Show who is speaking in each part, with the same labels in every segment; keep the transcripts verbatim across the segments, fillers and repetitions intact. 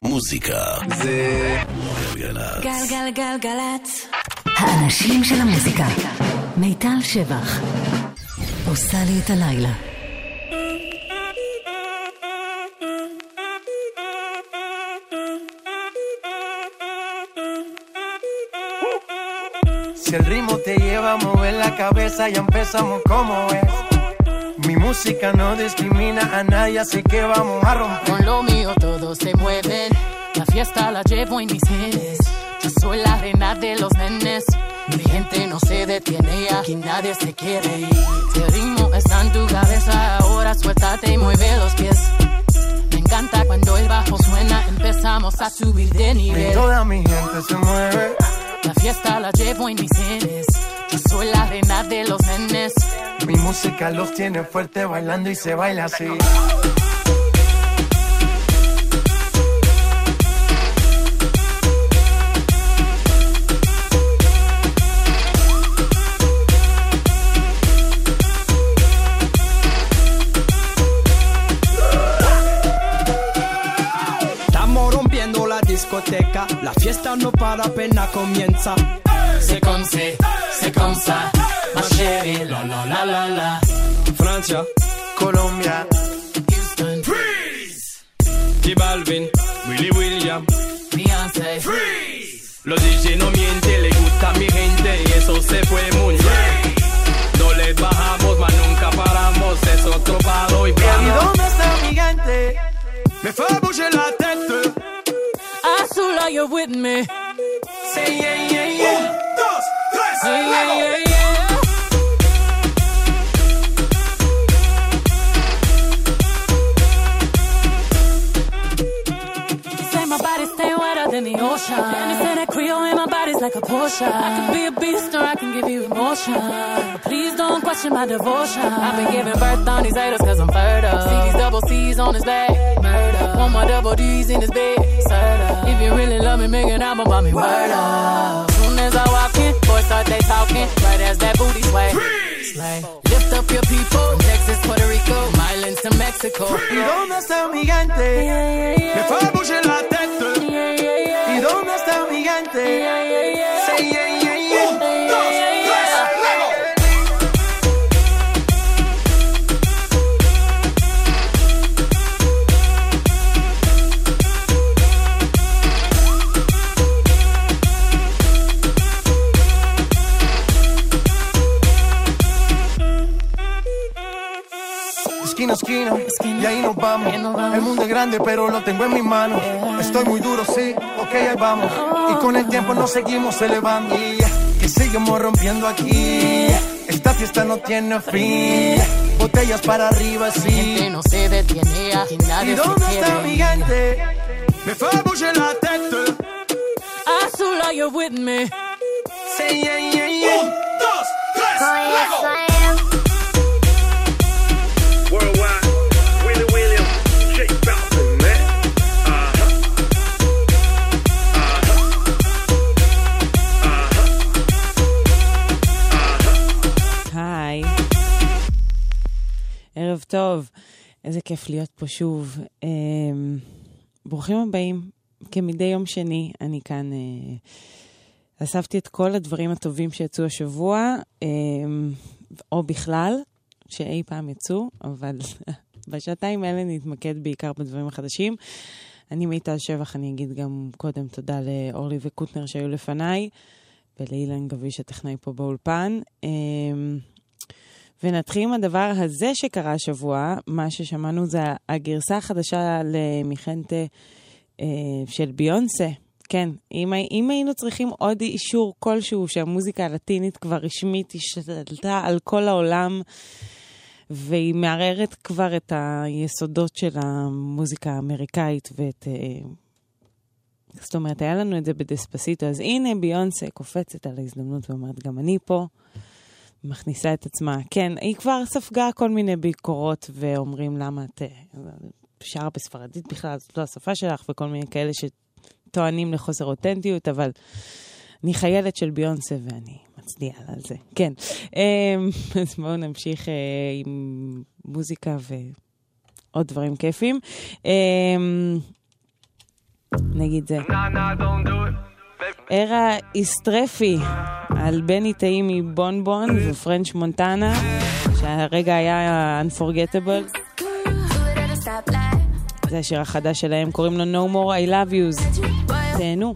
Speaker 1: מוזיקה זה גלגלצ.
Speaker 2: גלגלגלגלצ. האנשים של המוזיקה. מיטל שבח עושה לי את הלילה.
Speaker 3: Si el ritmo te lleva a mover la cabeza, ya empezamos como es. Mi música no discrimina a nadie, así que vamos a romper.
Speaker 4: Con lo mío todos se mueven, la fiesta la llevo en mis genes. Yo soy la reina de los nenes, mi gente no se detiene, aquí nadie se quiere ir. Si el ritmo está en tu cabeza, ahora suéltate y mueve los pies. Me encanta cuando el bajo suena, empezamos a subir de nivel.
Speaker 3: Y toda mi gente se mueve.
Speaker 4: La fiesta la llevo en mis genes. Yo soy la reina de los nenes.
Speaker 3: Mi música los tiene fuerte bailando y se baila así.
Speaker 5: Estamos rompiendo la discoteca, la fiesta no para, apenas comienza.
Speaker 4: C'est comme c'est, c'est comme ça, ma chérie, la la la la la.
Speaker 5: Francia,
Speaker 3: Colombia,
Speaker 4: Houston,
Speaker 5: Freeze. J Balvin, Willy William,
Speaker 4: Beyoncé,
Speaker 5: Freeze. Los D J no mienten, le gusta a mi gente y eso se fue muy bien. No les bajamos, mas nunca paramos, es otro palo y
Speaker 3: ¿y
Speaker 5: plano.
Speaker 3: dónde está mi gente?
Speaker 5: Me fait bouger la tête.
Speaker 4: Azul, are you with me?
Speaker 3: Say yeah, yeah, yeah.
Speaker 5: Dos, tres,
Speaker 4: Yeah, yeah, yeah, yeah. Say my body stay wetter than the ocean. And they say that Creole in my body's like a Porsche. I can be a beast or I can give you emotion. But please don't question my devotion. I've been giving birth on these haters cause I'm fertile. See these double C's on his back. Murder. One more double D's in his bed. Serta. If you really love me, make an album about me. Word up. Soon as I walk in, boys start they talking. Right as that booty sway. Slay. Lift up your people. From Texas, Puerto Rico, Milan to Mexico.
Speaker 3: ¿Y dónde está mi gente?
Speaker 4: Yeah, yeah, yeah.
Speaker 5: Me fait bouger la tête.
Speaker 4: Yeah, yeah, yeah.
Speaker 3: ¿Y dónde está mi gente?
Speaker 4: Yeah, yeah, yeah.
Speaker 3: Say yeah, yeah, yeah.
Speaker 5: Dos, tres, luego.
Speaker 3: Esquina, esquina,
Speaker 4: Esquina.
Speaker 3: y ahí nos vamos.
Speaker 4: Ahí nos vamos.
Speaker 3: El mundo es grande, pero lo tengo en mis manos. Estoy muy duro, sí, ok, ahí vamos. Y con el tiempo nos seguimos elevando. Y que seguimos rompiendo aquí. Esta fiesta no tiene fin. Botellas para arriba,
Speaker 4: Mi gente
Speaker 3: sí.
Speaker 4: no se detiene, aquí
Speaker 3: ¿Y
Speaker 4: nadie se
Speaker 3: dónde está mi
Speaker 4: quiere.
Speaker 3: gente?
Speaker 5: Me fait bouger la tête.
Speaker 4: Azul, are you with me?
Speaker 3: Say yeah, yeah, yeah.
Speaker 5: Dos, tres, luego.
Speaker 6: Worldwide, Willy William, J Balvin, man. Uh-huh. Uh-huh. Uh-huh.
Speaker 7: היי, ערב טוב, איזה כיף להיות פה שוב. אמ, ברוכים הבאים, כמדי יום שני, אני כאן אה, אספתי את כל הדברים הטובים שיצאו השבוע, אמ, או בכלל, שאי פעם יצאו, אבל בשעתיים האלה נתמקד בעיקר בדברים החדשים. אני מיטל שבח, אני אגיד גם קודם תודה לאורלי וקוטנר שהיו לפניי, ולאילן גביש הטכנאי פה באולפן. אמ, ונתחיל עם הדבר הזה שקרה השבוע. מה ששמענו זה הגרסה החדשה למיכנטה אה, של ביונסה. כן, אם, אם היינו צריכים עוד אישור כלשהו שהמוזיקה הלטינית כבר רשמית השתלטה על כל העולם, והיא מערערת כבר את היסודות של המוזיקה האמריקאית ואת... אה, זאת אומרת, היה לנו את זה בדספסיטו, אז הנה ביונסה קופצת על ההזדמנות ואומרת, גם אני פה, מכניסה את עצמה. כן, היא כבר ספגה כל מיני ביקורות ואומרים למה את שרה בספרדית בכלל, זאת לא השפה שלך, וכל מיני כאלה שטוענים לחוסר אותנטיות, אבל אני חיילת של ביונסה ואני מצדיעה על זה. כן. אז בואו נמשיך עם מוזיקה ועוד דברים כיפים. נגיד זה.
Speaker 5: Nah, nah, don't do it.
Speaker 7: ערה איסטרפי על בני טעים מבונבון ופרנץ' מונטנה, שהרגע היה Unforgettable. זה השיר החדש שלהם, קוראים לו No More I Love Yous. תהנו.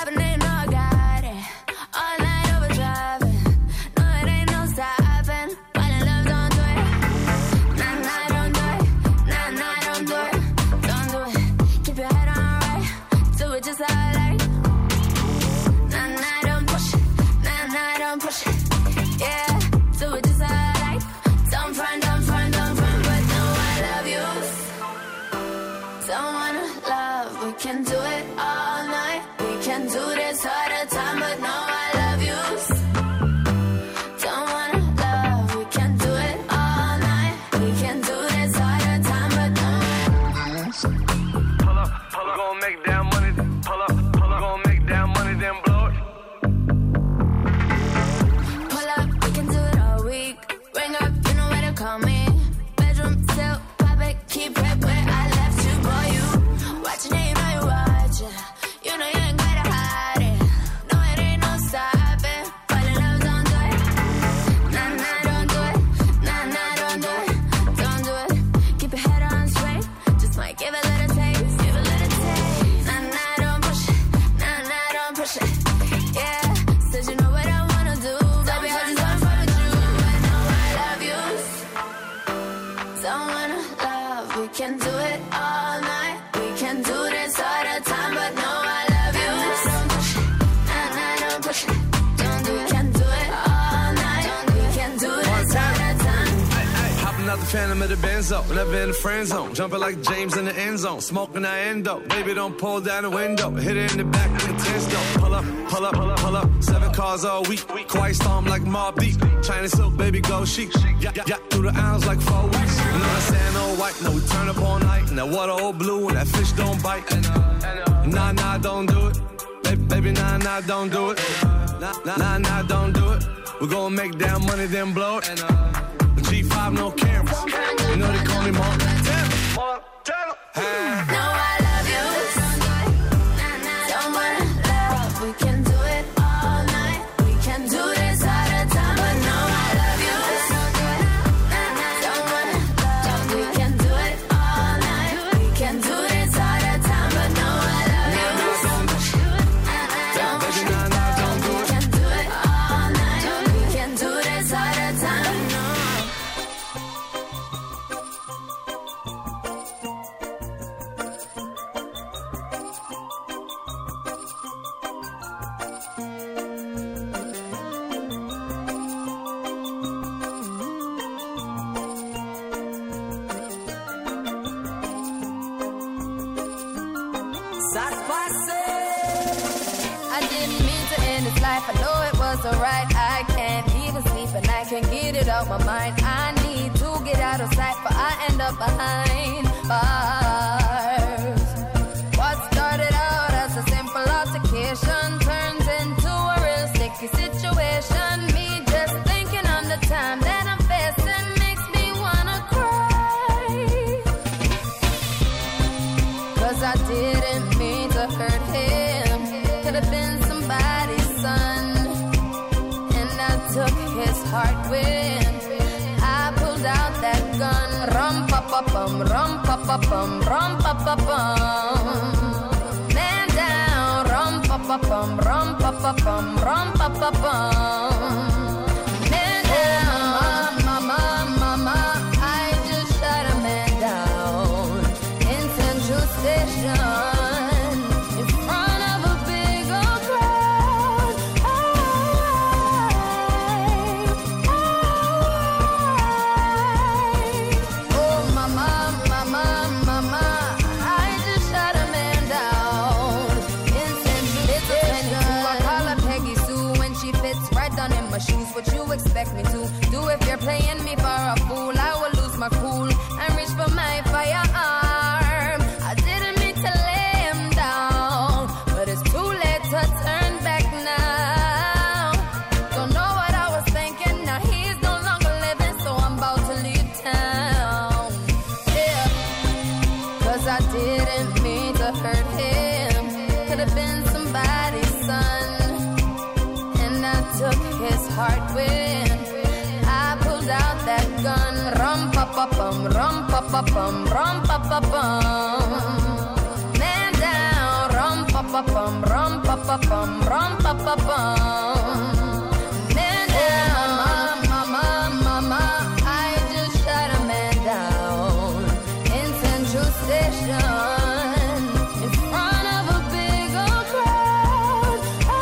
Speaker 8: Phantom of the Benzo, never in the friend zone. Jumping like James in the end zone, smoking that endo. Baby, don't pull down the window. Hit it in the back with the ten stone. Pull up, pull up, pull up, pull up. Seven cars all week. Quiet storm like Mobb Deep. China silk, baby, go chic. Yeah, yeah, yeah, through the aisles like four weeks. You know that sand all white. No, we turn up all night. And that water all blue. And that fish don't bite. Nah, nah, don't do it. Baby, baby, nah, nah, don't do it. Nah, nah, nah, don't do it. We're gonna make down money, then blow it. G five, no cameras. You know they call me Montana. Montana. Hey.
Speaker 9: No, I love you. Don't wanna love. We can do it all night. We can do this all the time. But no, I love you. Don't wanna love. We can do it all night. We can do this all the time. But no, I love you. Don't push it. Don't do it. We can do it all night. We can do this all the time.
Speaker 10: I know it wasn't right. I can't even sleep and I can't get it out my mind. I need to get out of sight, but I end up behind bars. What started out as a simple altercation turns into a real sticky situation. Me just thinking on the time that I'm facing makes me wanna cry. Cause I didn't mean to hurt him. Could have been somebody's son, and I took his heart when I pulled out that gun. Rum pa pa bum, rum pa pa bum, rum pa pa bum. Man down, rum pa pa bum, rum pa pa bum, rum pa pa bum. Man down, mama, mama, I just shot a man down in Central Station. Shoes, what you expect me to do if you're playing me for a fool? I will lose my cool and reach for my firearm. I didn't mean to lay him down, but it's too late to turn back now. Don't know what I was thinking. Now he's no longer living, so I'm about to leave town. Yeah, cause I didn't mean to hurt him. bum, rum pa pa bum. Man down, rum pa pa bum, rum pa pa bum, rum pa pa bum. Man down, mama, mama, mama, I just shot a man down in Central Station in front of a big old crowd. I,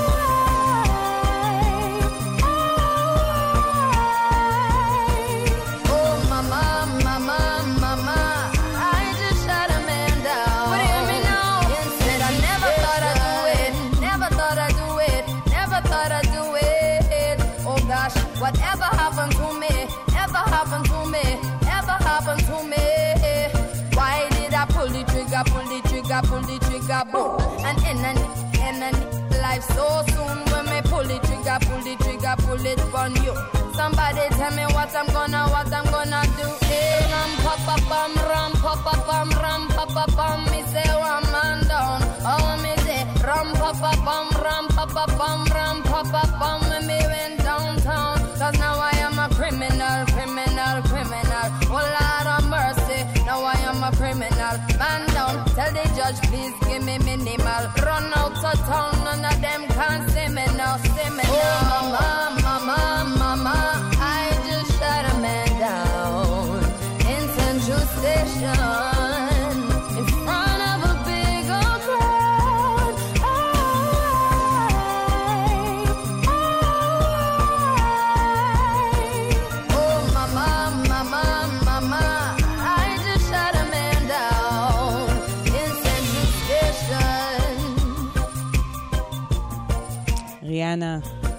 Speaker 10: I, oh mama, mama, mama, I just shot a man down. But hear me now, said I never thought I'd do it, never thought I'd do it, never thought I'd do it. Oh gosh, whatever happened to me, ever happened to me, ever happened to me. Why did I pull the trigger, pull the trigger, pull the trigger, boom? And in a, in a life so soon, when me pull the trigger, pull the trigger, pull it on you. Somebody tell me what I'm gonna, what I'm gonna do. Hey, ram pa pa bum, ram pa pa bum, ram pa pa bum. Me say one man down, oh me say ram pa pa bum, ram pa pa bum, ram pa pa bum. When me went downtown, 'cause now I am a criminal, criminal, criminal. Oh Lord of mercy, now I am a criminal. Man down, tell the judge please give me minimal. Run out of town, none of them can see me now, see me now. Oh mama, mama, mama, I just shot a man down in Central Station in front of a big old crowd. I, I, oh mama, mama, mama, I just shot a man down in Central Station.
Speaker 7: ריאנה,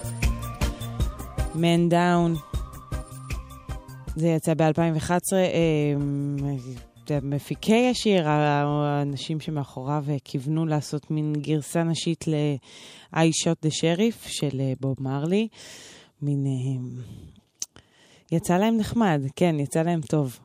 Speaker 7: Man Down. זה יצא ב-אלפיים ואחת עשרה. מפיקי השיר, האנשים שמאחוריו כיוונו לעשות מין גרסה נשית ל-I Shot the Sheriff של בוב מרלי. מין... יצא להם נחמד, כן, יצא להם טוב.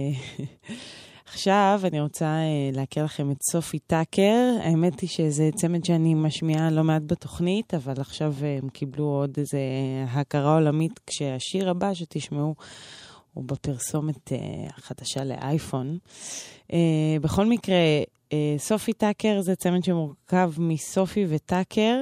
Speaker 7: עכשיו אני רוצה להכיר לכם את סופי טאקר. האמת היא שזה צמד שאני משמיעה לא מעט בתוכנית, אבל עכשיו הם קיבלו עוד איזה הכרה עולמית, כשהשיר הבא שתשמעו הוא בפרסומת החדשה לאייפון. בכל מקרה, סופי טאקר זה צמד שמורכב מסופי וטאקר.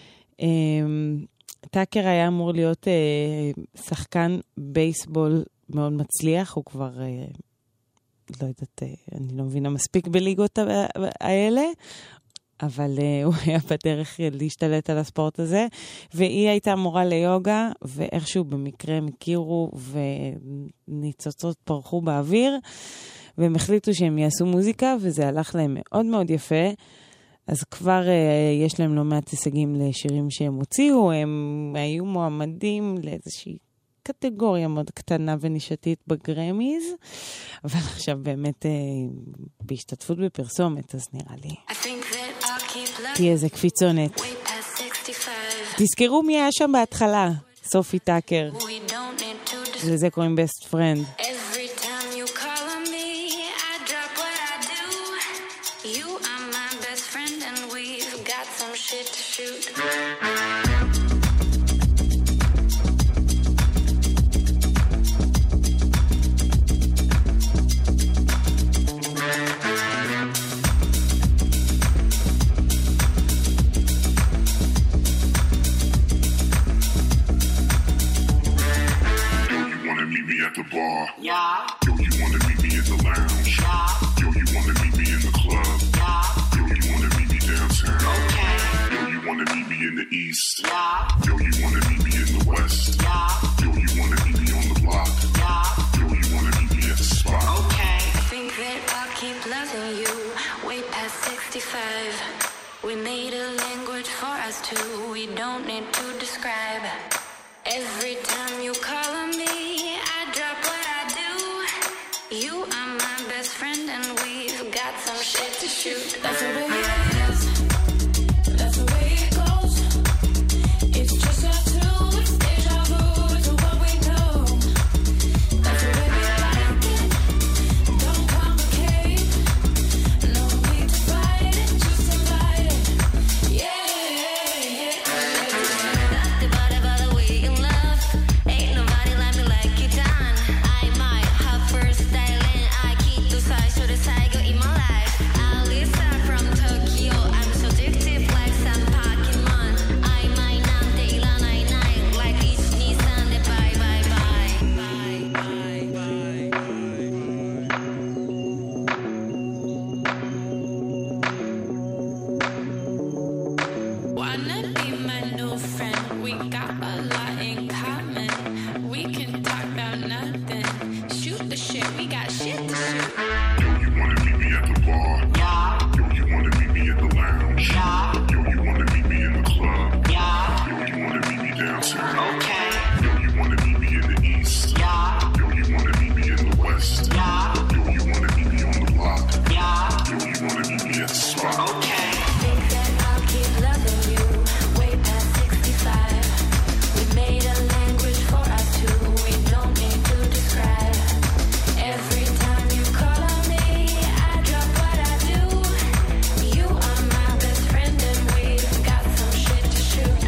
Speaker 7: טאקר היה אמור להיות שחקן בייסבול מאוד מצליח, הוא כבר... לא יודעת, אני לא מבינה מספיק בליגות האלה, אבל הוא היה בדרך להשתלט על הספורט הזה, והיא הייתה מורה ליוגה, ואיכשהו במקרה הם הכירו, וניצוצות פרחו באוויר, והם החליטו שהם יעשו מוזיקה, וזה הלך להם מאוד מאוד יפה, אז כבר יש להם לא מעט הישגים לשירים שהם הוציאו, הם היו מועמדים לאיזושהי קטגוריה מאוד קטנה ונישתית בגרמיז, אבל עכשיו באמת בהשתתפות בפרסומת, אז נראה לי תהיה איזה קפיצונת. תזכרו מי היה שם בהתחלה, סופי טאקר. לזה קוראים Best Friend.
Speaker 11: Yeah. Yo, you wanna meet me in the lounge? Yeah. Yo, you wanna meet me in the club? Yeah. Yo, you wanna meet me downtown? Okay. Yo, you wanna meet me in the east? Yeah. Yo, you wanna meet me in the west? Yeah. Yo, you wanna meet me on the block? Yeah. Yo, you wanna meet me at the spot? Okay.
Speaker 12: I think that I'll keep loving you way past sixty-five. We made a language for us two. We don't need to describe. Every time you call on me, I drop what I do. You are my best friend and we've got some shit to shoot. That's the way it is. That's the way it goes. It's just us two. It's deja vu to what we know. That's the way we like it. Don't complicate. No need to fight it. Just invite it. Yeah, yeah, yeah. Ain't nobody like me like you done. I might have first style and I keep
Speaker 11: spot. Okay.
Speaker 12: Think that I'll keep loving you way past sixty-five. We made a language for us two. We don't need to describe. Every time you call on me, I drop what I do. You are my best friend and we've got some shit to shoot.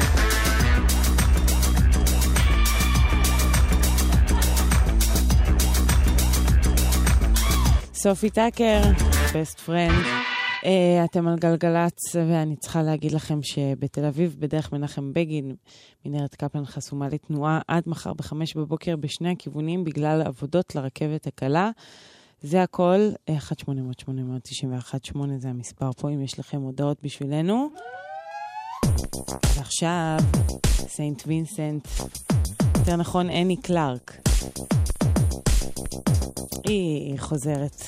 Speaker 7: סופי טאקר, best friend. Uh, אתם על גלגלץ, ואני צריכה להגיד לכם שבתל אביב, בדרך מנחם בגין, מנהרת קפלן חסומה לתנועה עד מחר בחמש בבוקר בשני הכיוונים, בגלל עבודות לרכבת הקלה. זה הכל, אחת שמונה אפס אפס שמונה תשע אחת שמונה זה המספר פה, אם יש לכם הודעות בשבילנו. ועכשיו, סיינט וינסנט, יותר נכון, אני קלארק. היא חוזרת.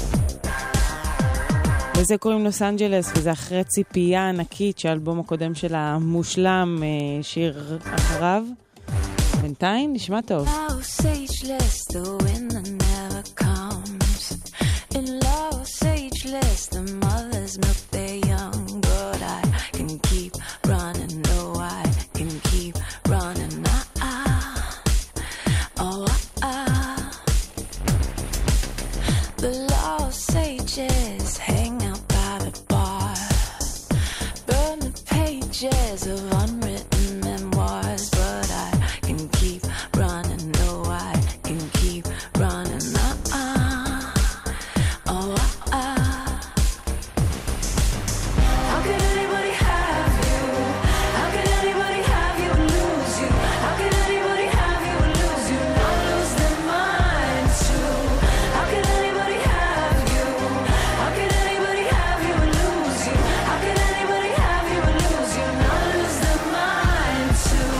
Speaker 7: וזה קוראים לוס אנג'לס, וזה אחרי ציפייה ענקית שהאלבום הקודם שלה מושלם, שיר אחריו. בינתיים נשמע טוב.
Speaker 12: Los ageless, the winter never comes. In Los ageless, the mothers milk their young. But I can keep running, no, I can keep running. Ah, ah, oh, ah, ah. The Los ages hang out by the bar. Burn the pages of unwritten memoirs. But I can keep running, no, I can keep running. Ah, ah, oh, ah, ah. How could anybody have you? How could anybody have you and lose you? How could anybody have you and lose you? Not lose their minds too. How could anybody have you? How could anybody have you and lose you? How could anybody have you and lose you? Not lose their minds too.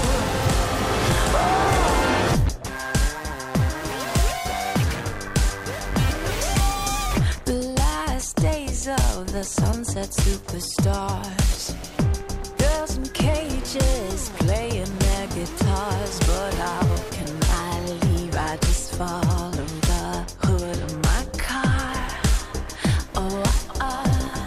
Speaker 12: The last days of the sunset superstars. Girls in cages playing their guitars. But how can I leave? I just follow the hood of my car. Oh, ah, ah.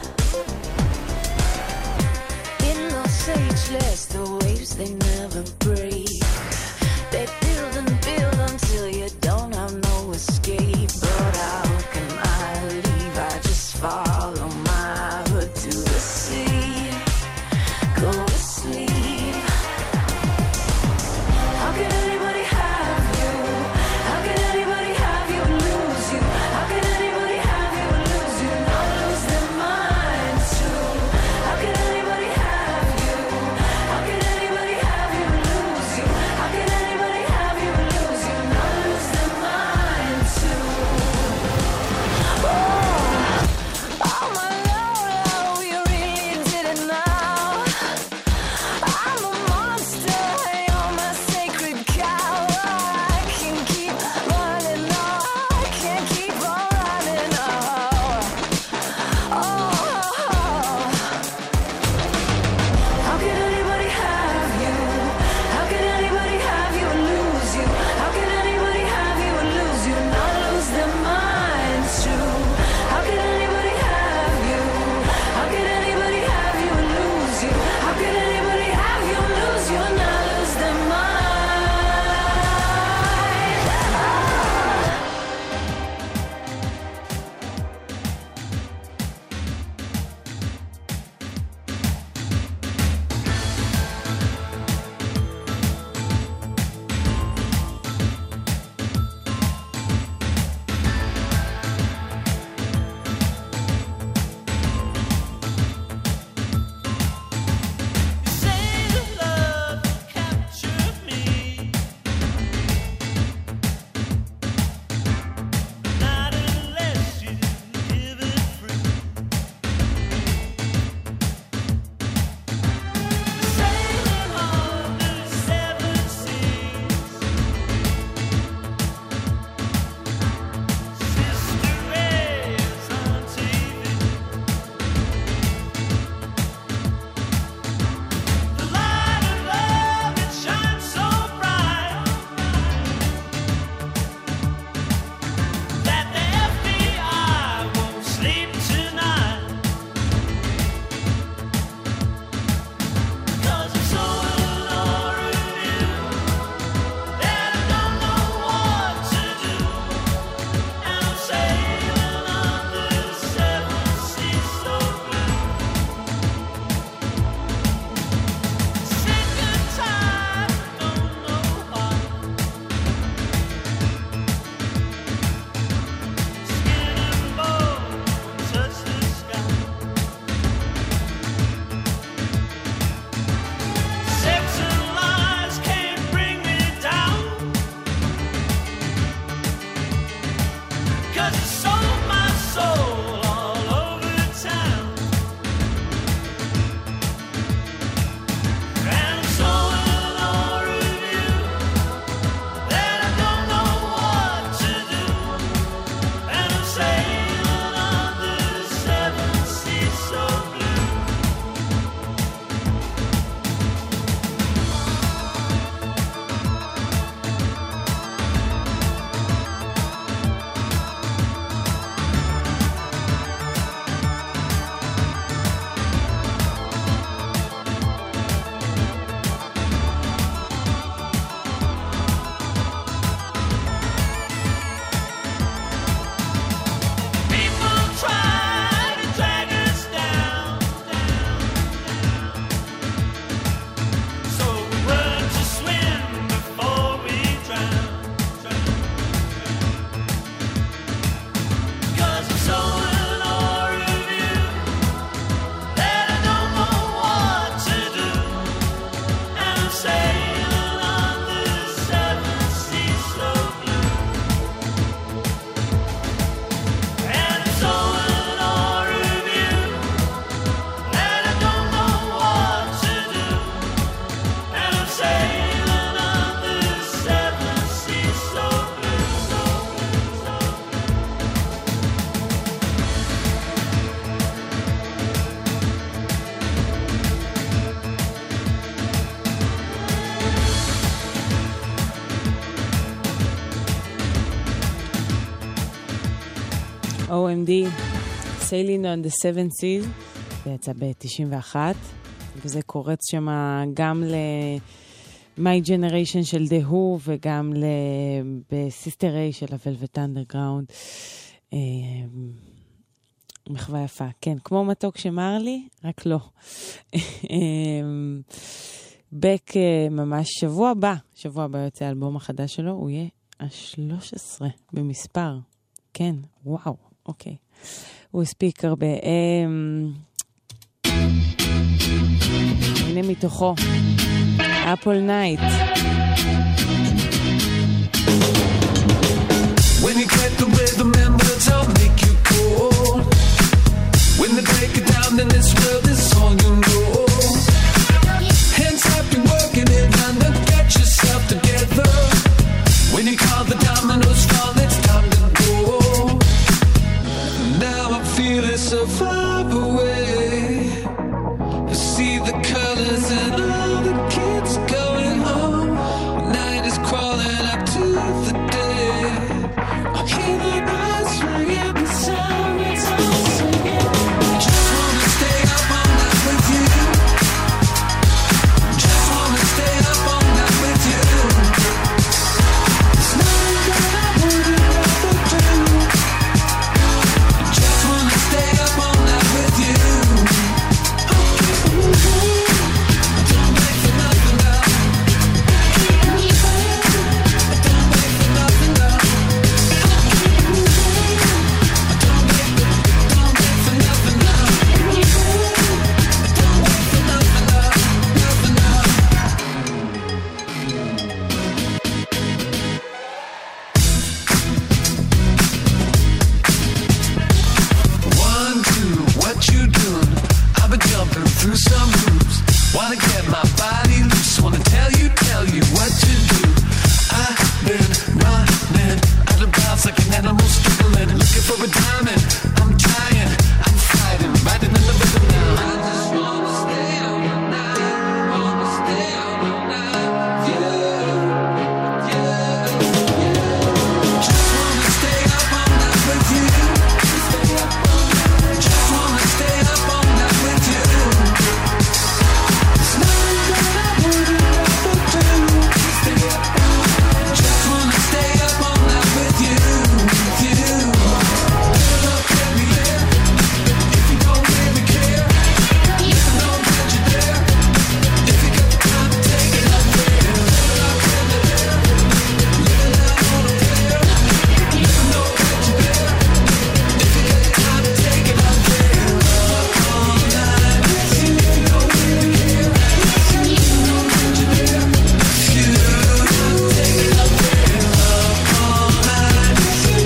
Speaker 12: In Los Ageless, the waves they never break. They build and build until you don't have no escape. But how can I leave? I just follow my hood to the sea. Go to sleep. How could anybody have
Speaker 7: אם די, Sailing on the Seven Seas, זה יצא ב-תשעים ואחת, וזה קורץ שם גם ל-My Generation של The Who, וגם ב-Sister Ray של ה-Velvet Underground. מחווה יפה, כן, כמו מתוק שמר לי, רק לא. בק ממש שבוע הבא, שבוע הבא יוצא האלבום החדש שלו, הוא יהיה ה-שלוש עשרה במספר. כן, וואו, אוקיי. הוא הספיק הרבה. הנה מתוכו, אפל נייט.
Speaker 13: When you get the rhythm and words I'll make you cold. When they break it down then this world is all you know. Hands up, you're working it and then get yourself together. When you call the dominoes fall, it's time to go. Now I feel it so far away. I see the colors and all the kids going home. Night is crawling up to the day. I hear the birds ringing, the sirens all singing. Just wanna stay up all night with you. Just wanna stay up all night with you. There's nothing that I wouldn't rather do. Just wanna stay up all night with you. Don't wait for nothing now. Don't wait for nothing now. One, two, what you doing? I've been jumping through some hoops. Wanna get my body loose. Wanna tell you, tell you what to do. I've been running out of bounds like an animal struggling, looking for a diamond. I'm trying, I'm fighting, riding in the rhythm now. I just wanna stay out all night, wanna stay out all night, yeah, yeah, yeah. Just wanna stay up all night with you. Stay up all night. Just wanna stay up all night with you. There's nothing that I wouldn't rather do. Stay up all night. Just wanna stay up all night with you, with you. Fill up every year. If you don't really care, you know that you're there. If you got the time to take it up there. Fill up every year. Live it out on a prayer. You know that you're there. If you got the time to take it up there. Up all night with you. If you don't really care, you know that you're there. You take it up there. Up all night with you.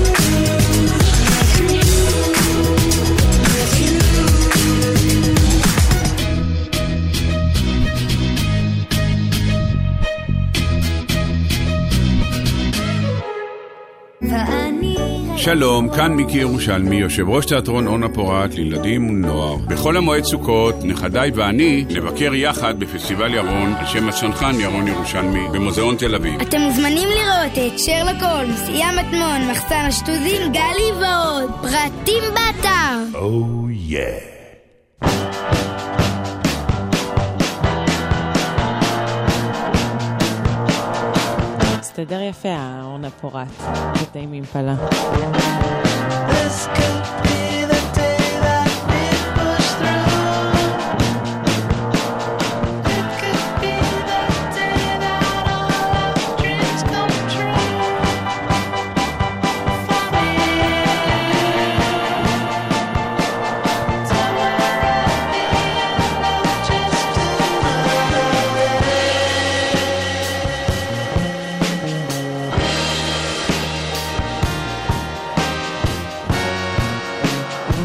Speaker 14: שלום, כאן מיקי ירושלמי, יושב ראש תיאטרון אורנה פורת לילדים ונוער. בכל המועד סוכות, נכדיי ואני נבקר יחד בפסטיבל ירון על שם הצנחן ירון ירושלמי במוזיאון תל אביב.
Speaker 15: אתם מוזמנים לראות את שרלוק הולמס, ים מטמון, מחסן השטוזים, גלי ועוד. פרטים באתר.
Speaker 1: Oh yeah.
Speaker 7: מסתדר יפה, האורנה פורת. קטעים עם פלה.
Speaker 13: This could be the day that we push through. It could be the day that all our dreams come true. For me, to where at the end I'll just do it.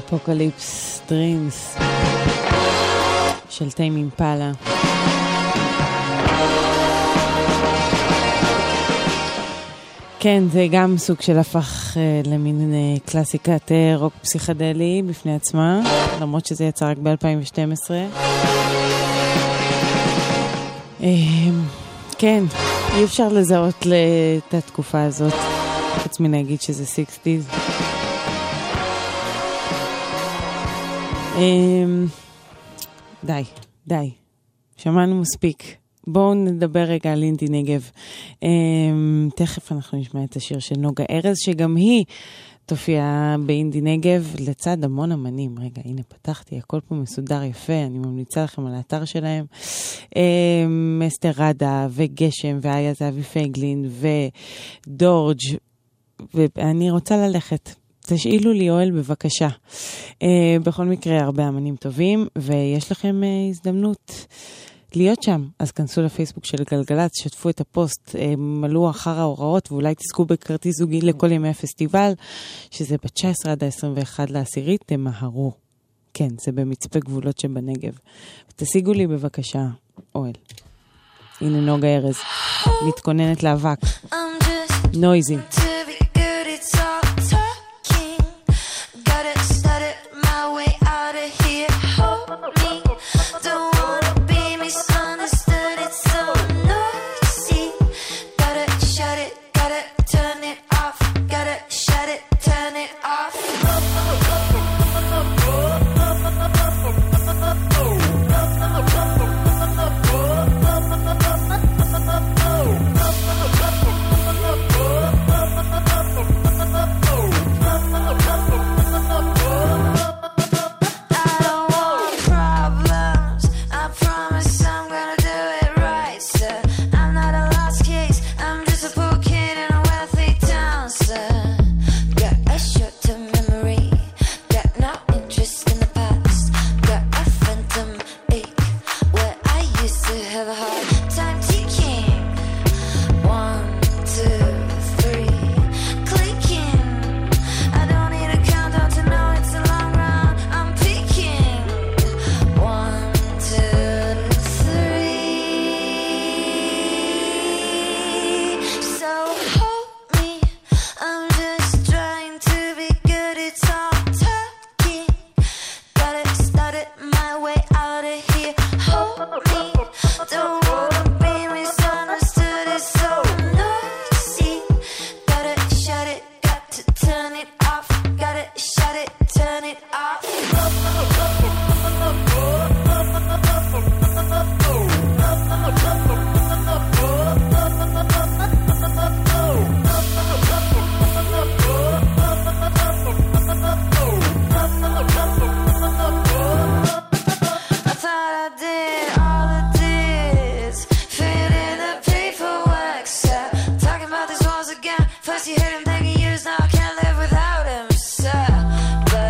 Speaker 7: אפוקליפס דרימס של טיימ אימפלה. כן, זה גם סוג של הפך uh, למין uh, קלאסיקת uh, רוק פסיכדלי בפני עצמה, למרות שזה יצא רק ב-אלפיים ושתים עשרה. Uh, כן, אי אפשר לזהות את התקופה הזאת, חוץ מן להגיד שזה סיקסטיז. Uh, די, די. שמענו מספיק. בואו נדבר רגע על אינדי נגב. Um, תכף אנחנו נשמע את השיר של נוגה ארז, שגם היא תופיע באינדי נגב לצד המון אמנים. רגע, הנה פתחתי, הכל פה מסודר יפה, אני ממליצה לכם על האתר שלהם. Um, אסתר רדה וגשם ואיה זהבי פייגלין ודורג', ואני רוצה ללכת. תשאילו לי אוהל בבקשה. Uh, בכל מקרה, הרבה אמנים טובים, ויש לכם uh, הזדמנות להיות שם. אז כנסו לפייסבוק של גלגלת, שתפו את הפוסט, uh, מלאו אחר ההוראות, ואולי תזכו בכרטיס זוגי לכל ימי הפסטיבל, שזה ב-תשע עשרה עד ה-עשרים ואחת לעשירית, תמהרו. כן, זה במצפה גבולות שבנגב. תשיגו לי בבקשה אוהל. הנה נוגה ארז, מתכוננת לאבק. נויזי.
Speaker 9: First you hit him, then you use, now I can't live without him, sir. But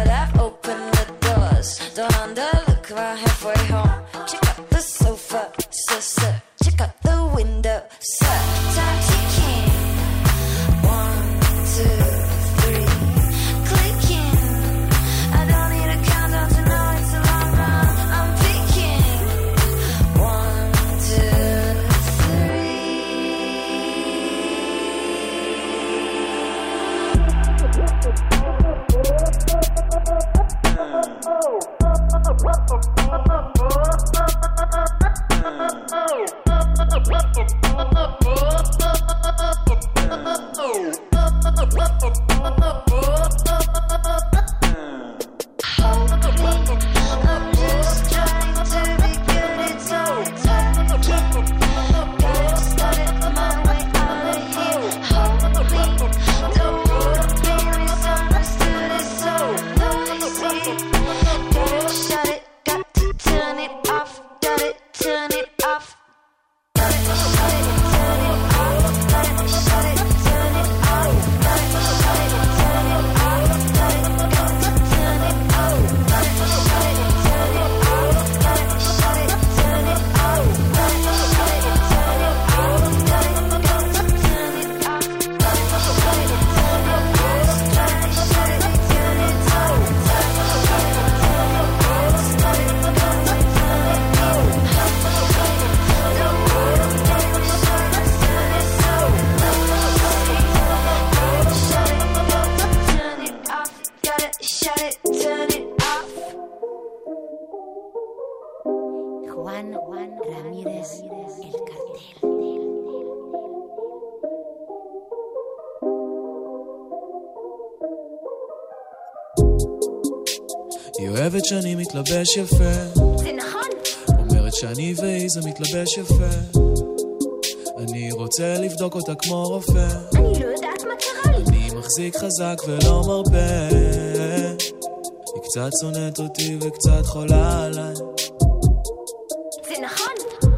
Speaker 16: היא אוהבת שאני מתלבש יפה,
Speaker 9: זה נכון.
Speaker 16: אומרת שאני והיא זה מתלבש יפה, אני רוצה לבדוק אותה כמו רופא,
Speaker 9: אני לא יודעת מה קרה לי.
Speaker 16: אני מחזיק חזק ולא מרבה, היא קצת שונאת אותי וקצת חולה עליי,
Speaker 9: זה נכון.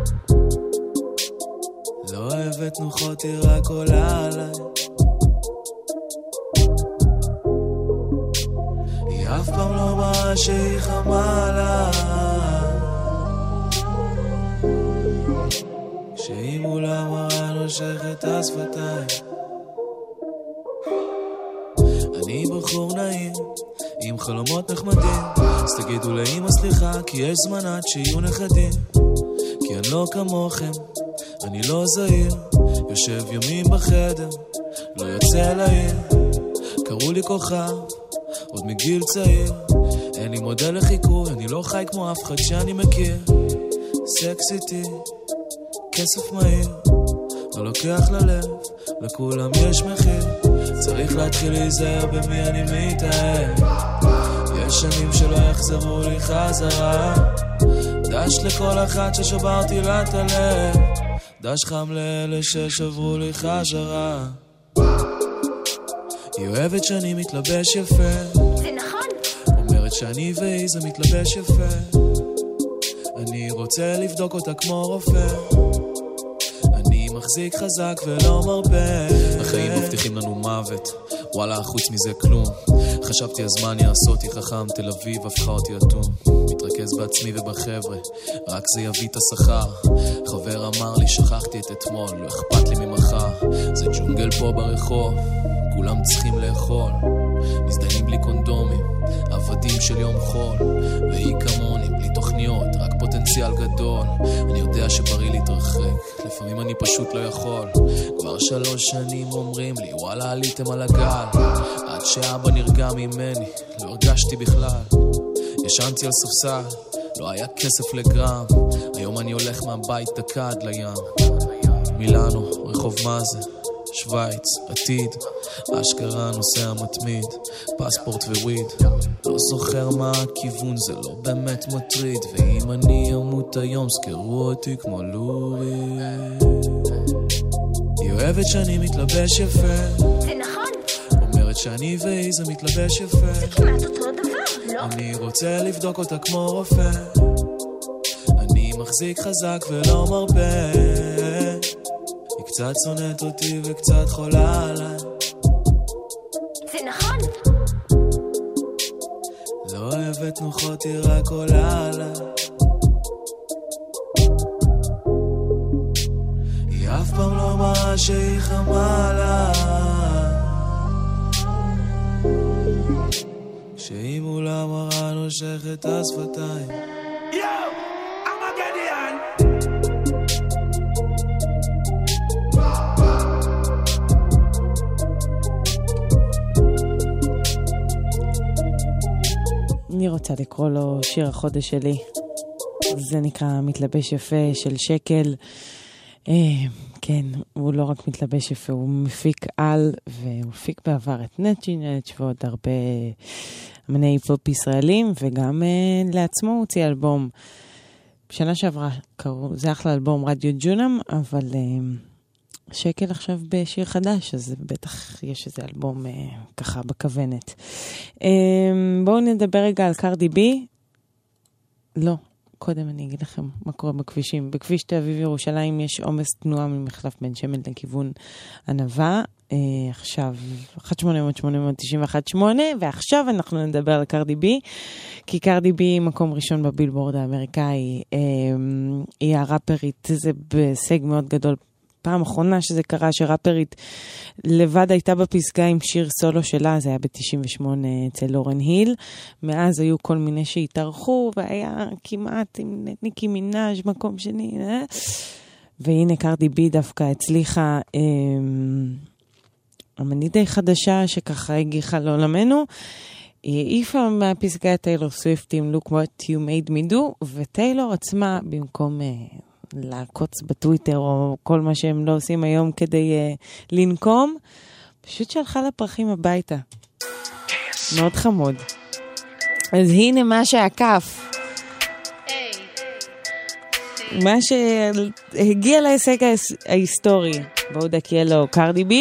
Speaker 16: לא אוהבת תנוחות, היא רק עולה עליי, היא אף פעם לא מראה שהיא חמה עליי, כשהיא מולה מראה נושכת השפתיים, אני בחור נעים עם חלומות נחמדים, אז תגידו לאמא סליחה כי יש זמן עד שיהיו נכדים, כי אני לא כמוכם, אני לא זהיר, יושב ימים בחדר, לא יוצא לעיר, קראו לי כוכב עוד מגיל צעיר, אין לי מודל לחיקוי, אני לא חי כמו אף אחד שאני מכיר, סקסיטי, כסף מהיר, לא לוקח ללב, לכולם יש מחיר, צריך להתחיל להיזהר במי אני מתאהב, יש שנים שלא יחזרו לי חזרה, דש לכל אחת ששברתי לה את הלב, דש חם לאלה ששברו לי חזרה, היא אוהבת שאני מתלבש יפה,
Speaker 9: זה נכון.
Speaker 16: אומרת שאני והיא זה מתלבש יפה, אני רוצה לבדוק אותה כמו רופא, אני מחזיק חזק ולא מרבה, החיים מבטיחים לנו מוות, וואלה חוץ מזה כלום, חשבתי הזמן יעשה אותי חכם, תל אביב הפכה אותי אטום, מתרכז בעצמי ובחבר'ה, רק זה יביא את השכר, חבר אמר לי שכחתי את אתמול, לא אכפת לי ממחר, זה ג'ונגל פה ברחוב, כולם צריכים לאכול, מזדיינים בלי קונדומים, עבדים של יום חול, והיא כמוני בלי תוכניות, רק פוטנציאל גדול, אני יודע שבריא להתרחק, לפעמים אני פשוט לא יכול, כבר שלוש שנים אומרים לי וואלה עליתם על הגל, עד שאבא נרגע ממני, לא הרגשתי בכלל, ישנתי על ספסל, לא היה כסף לגרם, היום אני הולך מהבית דקה עד לים, מילאנו, רחוב מאזה, שוויץ, עתיד, אשכרה נוסע מתמיד, פספורט וויד, לא זוכר מה הכיוון, זה לא באמת מטריד, ואם אני אמות היום זכרו אותי כמו לורי, היא אוהבת שאני מתלבש יפה,
Speaker 9: זה נכון.
Speaker 16: אומרת שאני והיא זה מתלבש יפה,
Speaker 9: זה כמעט אותו דבר, לא?
Speaker 16: אני רוצה לבדוק אותה כמו רופא, אני מחזיק חזק ולא מרבה, היא קצת שונאת אותי וקצת חולה עליי,
Speaker 9: זה נכון.
Speaker 16: לא אוהבת תנוחות, היא רק עולה עליי, היא אף פעם לא מראה שהיא חמה עליי, כשהיא מולה מראה נושכת השפתיים,
Speaker 7: אני רוצה לקרוא לו שיר החודש שלי. זה נקרא מתלבש יפה של שקל. אה, כן, הוא לא רק מתלבש יפה, הוא מפיק על, והוא מפיק בעבר את נצ'י נצ' ועוד הרבה אמני היפ-הופ ישראלים, וגם אה, לעצמו הוא הוציא אלבום. בשנה שעברה קראו, זה אחלה אלבום רדיו ג'ונם, אבל אה, שקל עכשיו בשיר חדש, אז בטח יש איזה אלבום אה, ככה בכוונת. אה, בואו נדבר רגע על קרדי בי. לא, קודם אני אגיד לכם מה קורה בכבישים. בכביש תל אביב ירושלים יש עומס תנועה ממחלף בן שמן לכיוון ענבה. אה, עכשיו, אחת שמונה אפס אפס שמונה תשע אחת שמונה, ועכשיו אנחנו נדבר על קרדי בי, כי קרדי בי מקום ראשון בבילבורד האמריקאי. אה, היא הראפרית, זה בסג מאוד גדול. פעם אחרונה שזה קרה שראפרית לבד הייתה בפסגה עם שיר סולו שלה, זה היה ב-תשעים ושמונה אצל לורן היל. מאז היו כל מיני שהתארחו, והיה כמעט עם ניקי מינאז' מקום שני. אה? והנה קרדי בי דווקא הצליחה, אה, אמנית די חדשה שככה הגיחה לעולמנו. היא העיפה מהפסגה את טיילור סוויפט עם Look What You Made Me Do, וטיילור עצמה במקום... אה, לעקוץ בטוויטר או כל מה שהם לא עושים היום כדי uh, לנקום, פשוט שלחה לפרחים הביתה. מאוד חמוד. אז הנה מה שעקף. מה שהגיע להישג ההיסטורי. בואו דקיה לו קרדי בי.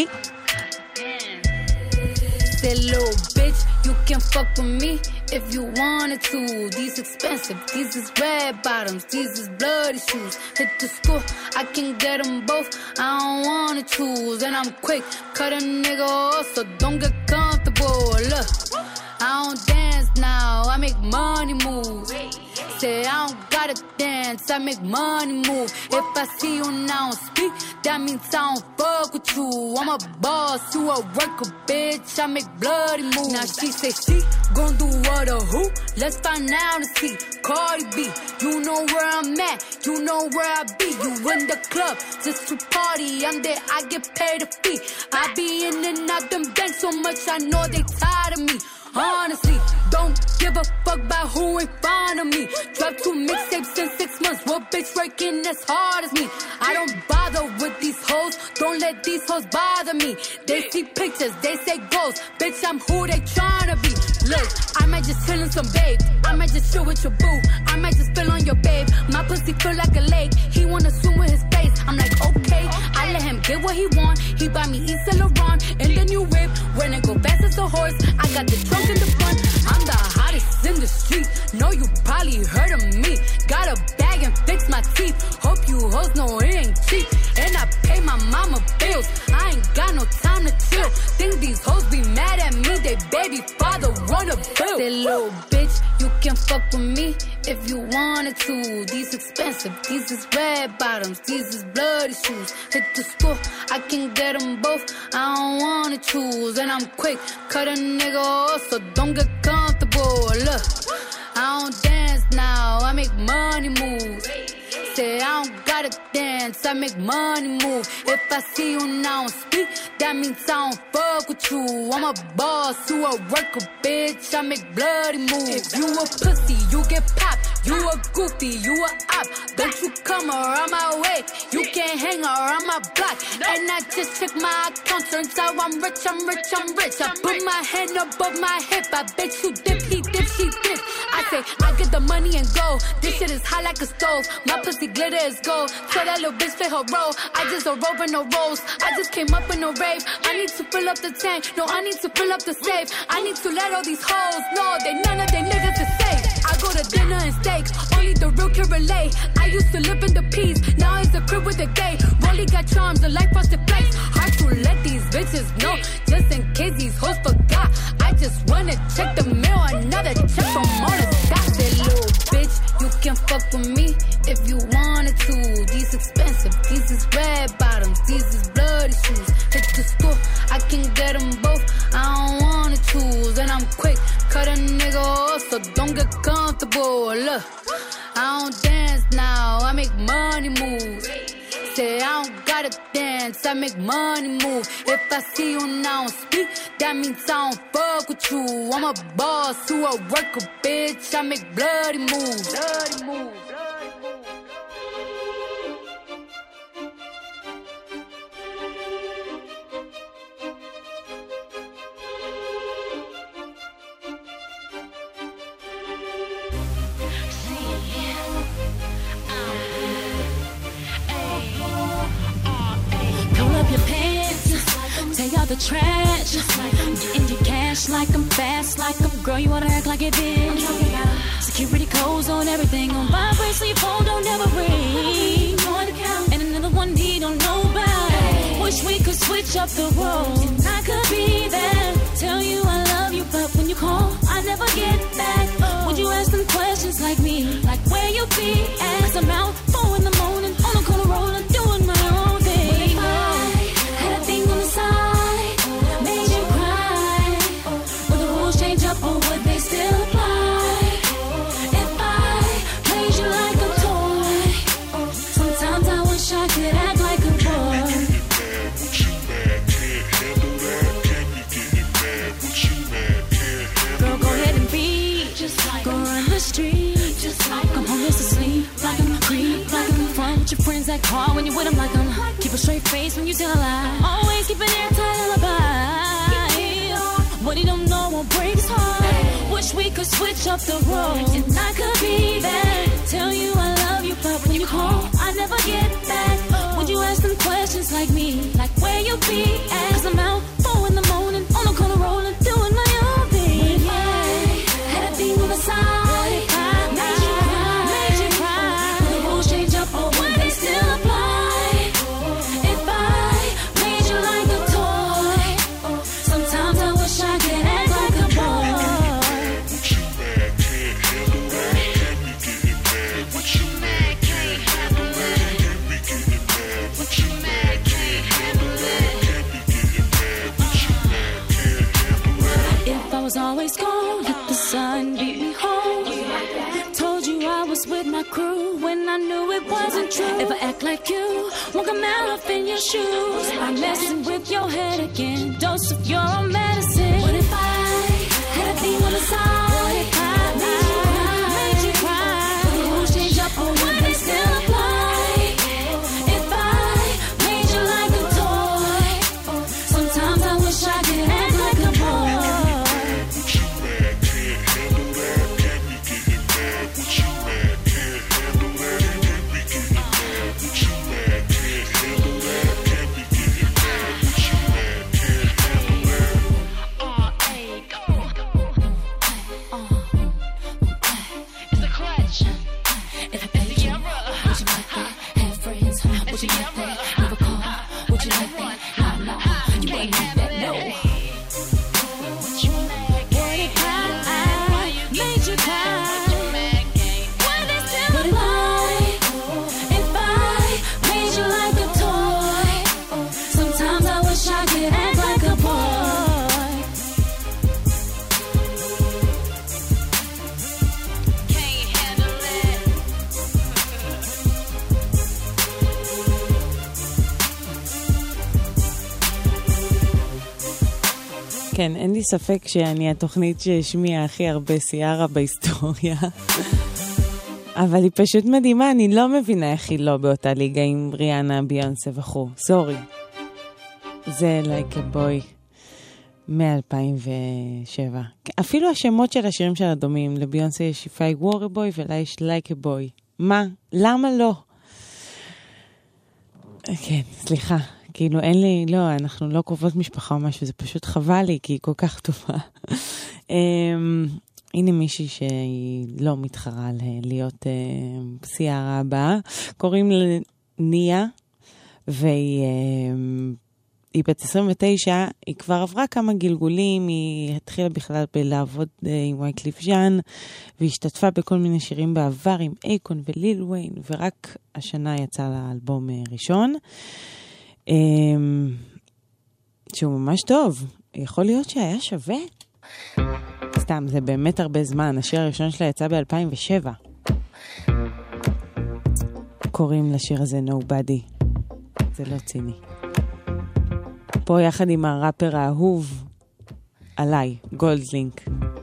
Speaker 10: That little bitch, you can fuck with me if you wanted to. These expensive, these is red bottoms, these is bloody shoes. Hit the school, I can get them both, I don't wanna choose. And I'm quick, cut a nigga off, so don't get comfortable. Look, I don't dance now, I make money moves. Say I don't gotta dance, I make money move. If I see you now speak, that means I don't fuck with you. I'm a boss, you a worker, bitch, I make bloody moves. Now she say she gon' do what or who? Let's find out and see. Cardi B, you know where I'm at, you know where I be. You in the club, just to party, I'm there, I get paid a fee. I be in and out them banks so much, I know they tired of me. Honestly, don't give a fuck about who in front of me. Drop two mixtapes in six months. What bitch working as hard as me? I don't bother with these hoes. Don't let these hoes bother me. They see pictures, they say goals. Bitch, I'm who they tryna be. Look, I might just chill in some babe. I might just chill with your boo. I might just spill on your babe. My pussy feel like a lake. He wanna swim with his face. I'm like, okay. I let him get what he want. He buy me Yves Saint Laurent and the new whip. When it go fast as a horse, I got the trunk in the front. I'm the hottest in the street. Know you probably heard of me. Got a bag and fix my teeth. Hope you hoes know it ain't cheap. And I pay my mama bills. I ain't got no time to chill. Think these hoes be mad at me. They baby father run a bill. That little bitch, you can fuck with me if you wanted to. These expensive, these is red bottoms, these is bloody shoes. Hit the school, I can get them both, I don't wanna choose. And I'm quick, cut a nigga off, so don't get comfortable. Look, I don't dance now, I make money moves. Say I don't gotta dance, I make money move. If I see you now speak, that means I don't fuck with you. I'm a boss, you a worker, bitch, I make bloody moves. If you a pussy, you get popped. You a goofy, you a op. Don't you come around my way. You can't hang around my block. And I just check my account, turns out I'm rich, I'm rich, I'm rich. I put my hand above my hip, I bet you dip, he dip, she dip. I say, I get the money and go. This shit is hot like a stove. My pussy glitter is gold. So that little bitch play her role. I just a rope and no rolls. I just came up in a rave. I need to fill up the tank. No, I need to fill up the safe. I need to let all these hoes know that none of they niggas is safe. I go to dinner and steak. Only the real can relate. I used to live in the peace. Now it's a crib with a gay. Rolly got charms, the life frosted flakes. Hard to let these bitches know. Just in case these hoes forgot. I just wanna check the mail. Another check from all the stocks. That little bitch, you can fuck with me if you wanted to. These expensive, these is red bottoms, these is bloody shoes. Hit the store, I can get them both, I don't wanna choose. And I'm quick, cut a nigga off, so don't get comfortable. Look, I don't dance now, I make money moves. Say I don't gotta dance, I make money move. If I see you now speak, that means I don't fuck with you. I'm a boss, you a worker, bitch, I make bloody moves. Bloody moves.
Speaker 4: Take out the trash, get in your cash like I'm fast, like I'm girl, you wanna act like it is. Security codes on everything, on vibrate, so your phone don't ever ring. And another one he don't know about. Wish we could switch up the roles. I could be there, tell you I love you, but when you call, I never get back. Would you ask them questions like me, like where you be at? Cause I'm out four in the morning, on the corner rolling, doing my own thing. But if I had a thing on the side, made you cry, would the rules change up or would they still apply? If I played you like a toy, sometimes I wish I could act like a boy. Girl, go ahead and be, just like go run the street, just like I'm homeless asleep, like I'm creep, like I'm front with your friends that call when you with them, like I'm keep a straight face when you tell a lie. Always keep an airtight alibi. What he don't know won't break his heart. Wish we could switch up the road. And I could be there, tell you I love you, but when you call, I never get back. Would you ask them questions like me, like where you be at? Cause I'm out, four in the morning, on the corner rolling, doing my own thing. What if I had a thing on the side? What if I made you cry? Made you cry? Will the rules change up or would they still apply? If I made you like a toy, sometimes I wish I could act like a boy. Was always gone, let the sun beat me home. Told you I was with my crew when I knew it wasn't true. If I act like you, won't come out up in your shoes. I'm messing with your head again, dose of your own medicine. What if I had a thing on the side? What if I made you cry? Made you cry? Will the rules change up or would they still apply? If I made you like a toy, sometimes I wish I could act like a boy.
Speaker 7: כן, אין לי ספק שאני התוכנית שהשמיעה הכי הרבה סיירה בהיסטוריה. אבל היא פשוט מדהימה, אני לא מבינה איך היא לא באותה ליגה עם ריאנה, ביונסה וכו'. סורי. זה Like a Boy מ-אלפיים ושבע. אפילו השמות של השירים שלה דומים. לביונסה יש If I Were a Boy ולה יש Like a Boy. מה? למה לא? כן, סליחה. כאילו אין לי, לא, אנחנו לא קרובות משפחה או משהו, זה פשוט חבל לי, כי היא כל כך טובה. הנה מישהי שהיא לא מתחרה להיות סיירה הבאה, קוראים לה ניה, והיא בת עשרים ותשע, היא כבר עברה כמה גלגולים, היא התחילה בכלל בלעבוד עם וייקליף ז'אן, והשתתפה בכל מיני שירים בעבר עם אייקון וליל וויין, ורק השנה יצא לה אלבום ראשון, שהוא ממש טוב. יכול להיות שהיה שווה? סתם, זה באמת הרבה זמן. השיר הראשון שלה יצא ב-אלפיים ושבע. קוראים לשיר הזה Nobody. זה לא ציני. פה יחד עם הראפר האהוב עליי, גולדלינק.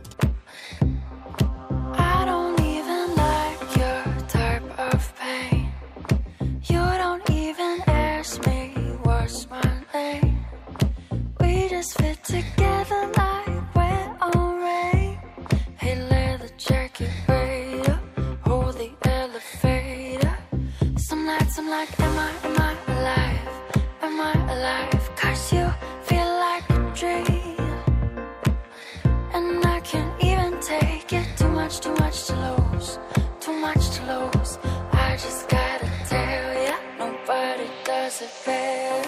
Speaker 9: Fit together like we're alright. Hey, leather jacket, wait up. Hold the elevator. Some nights I'm like, am I, am I alive? Am I alive? Cause you feel like a dream. And I can't even take it. Too much, too much to lose. Too much to lose. I just gotta tell ya, nobody does it better.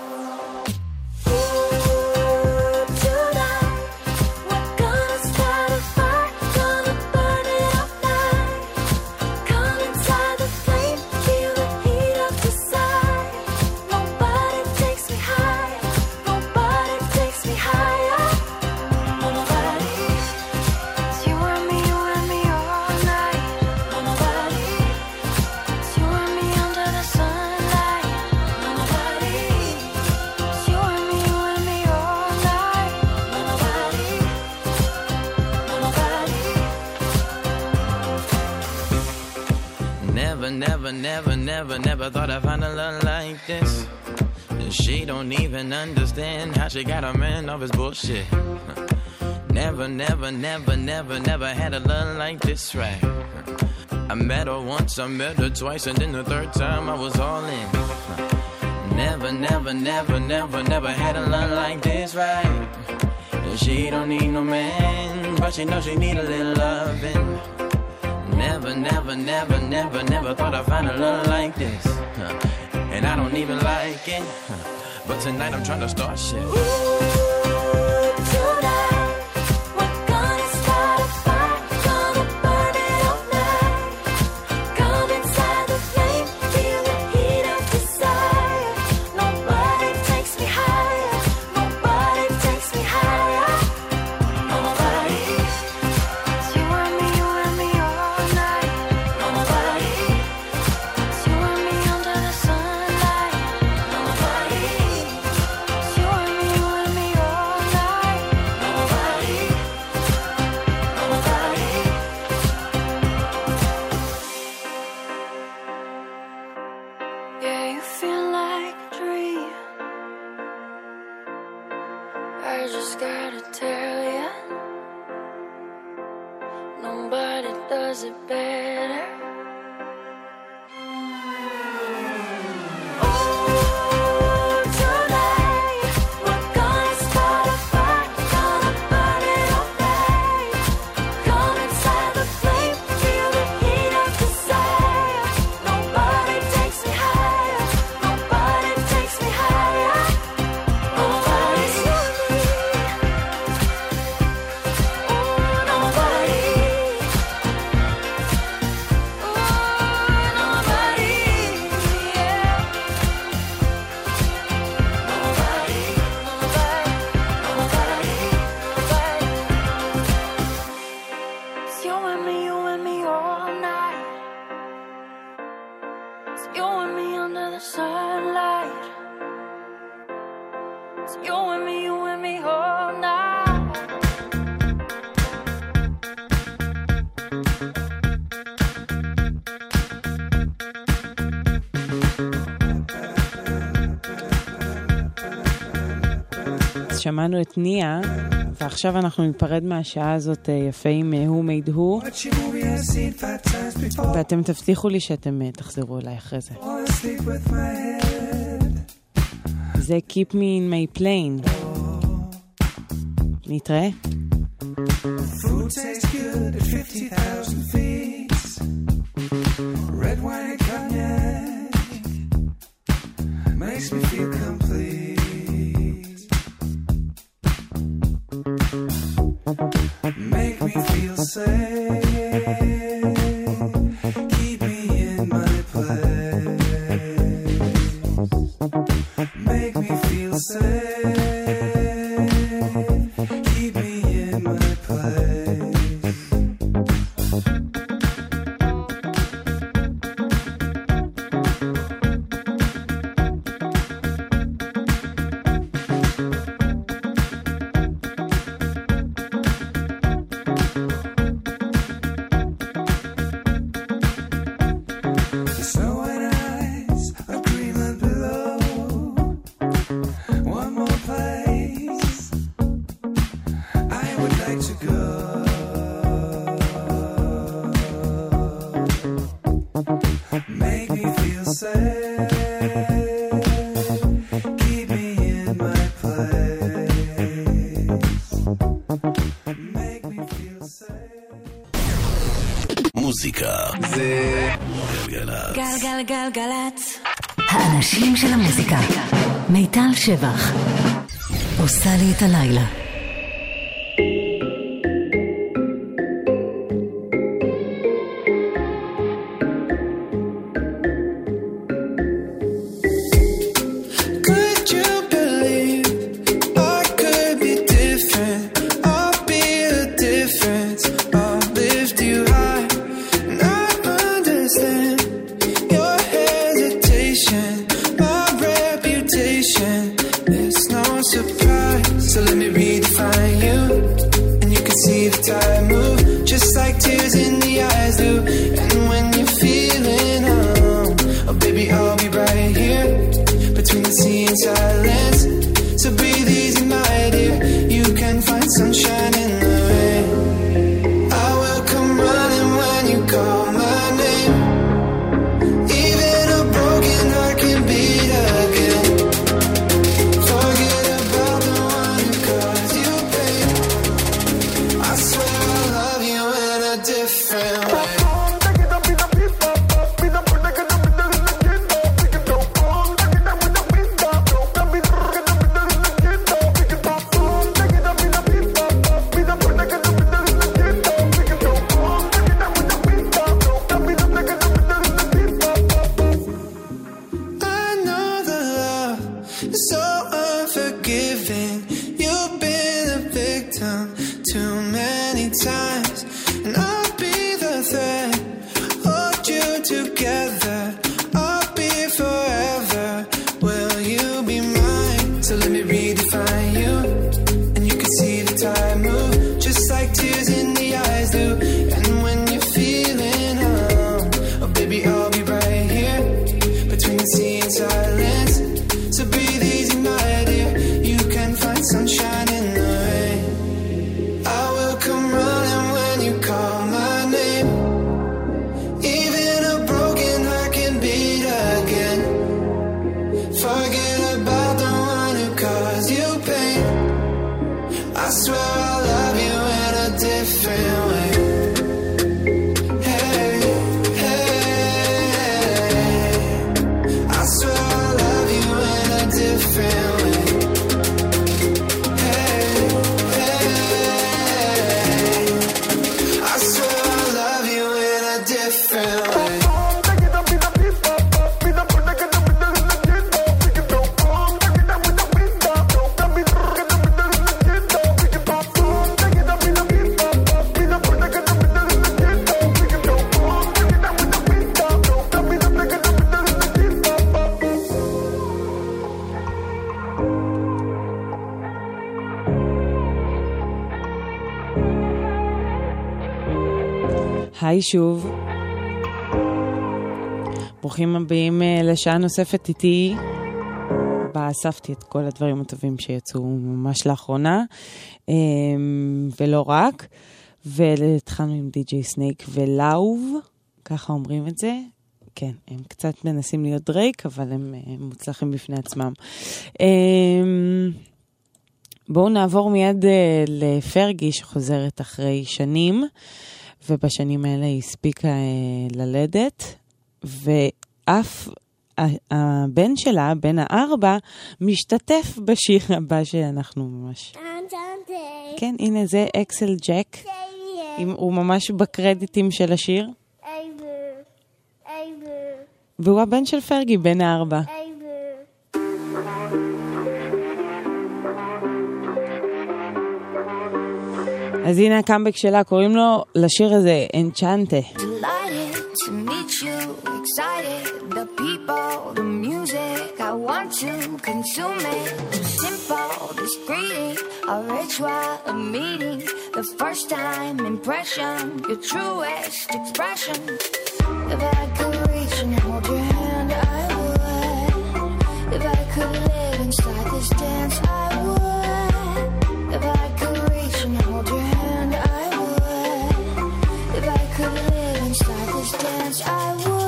Speaker 17: Never, never, never, never thought I'd find a love like this. She don't even understand how she got a man off his bullshit. Never, never, never, never, never had a love like this, right? I met her once, I met her twice, and then the third time I was all in. Never, never, never, never, never had a love like this, right? And she don't need no man, but she knows she need a little loving. Never, never, never, never, never thought I'd find a love like this. And I don't even like it, but tonight I'm trying to start shit.
Speaker 7: שמענו את ניה, ועכשיו אנחנו ניפרד מהשעה הזאת יפה עם Who Made Who, ואתם תבטיחו לי שאתם תחזרו אליי אחרי זה. זה Keep Me in My Plane. נתראה.
Speaker 13: Food tastes good at fifty thousand feet. Red wine and cognac makes me feel complete. Make me feel safe. Keep me in my place. Make me feel safe. Keep me in my place.
Speaker 1: מוזיקה זה גלגלצ.
Speaker 2: גלגלגלגלצ. האנשים של המוזיקה. מיטל שבח עושה לי את הלילה.
Speaker 13: Silence, so breathe easy, my dear. You can find sunshine in the many times, and I'll be the thread, hold you together. I'll be forever. Will you be mine? So let me redefine you, and you can see the time move, just like tears in the eyes do. And when you're feeling home, oh baby, I'll be right here between the sea and silence. So breathe easy, my dear. You can find sunshine in the rain. I will come running when you call my name. Even a broken heart can beat again. Forget about the one who caused you pain. I swear I'll love you in a different way. Hey, hey, I swear I'll love you in a different way. Hey, hey, I swear I'll love you in a different way.
Speaker 7: היי שוב. ברוכים הבאים לשעה נוספת איתי. בה אספתי את כל הדברים הטובים שיצאו ממש לאחרונה, ולא רק. והתחלנו עם די-ג'יי סנייק ולאוב, ככה אומרים את זה. כן, הם קצת מנסים להיות דרייק, אבל הם מוצלחים בפני עצמם. בואו נעבור מיד לפרגי שחוזרת אחרי שנים, ובשנים האלה היא הספיקה ללדת, ואף הבן שלה, בן הארבע, משתתף בשיר הבא שאנחנו ממש... כן, הנה זה אקסל ג'ק, הוא ממש בקרדיטים של השיר. והוא הבן של פרגי, בן הארבע. אז הנה הקאמבק שלה, קוראים לו לשיר הזה אנצ'נטה.
Speaker 9: Delighted to meet you, excited, the people, the music, I want to consume it. Too simple, discreet, a ritual, a meeting, the first time impression, your truest expression. If I could reach and hold your hand, I would. If I could live inside this dance, I would. If I could reach and hold your hand, I would. If I could live inside this dance, I would.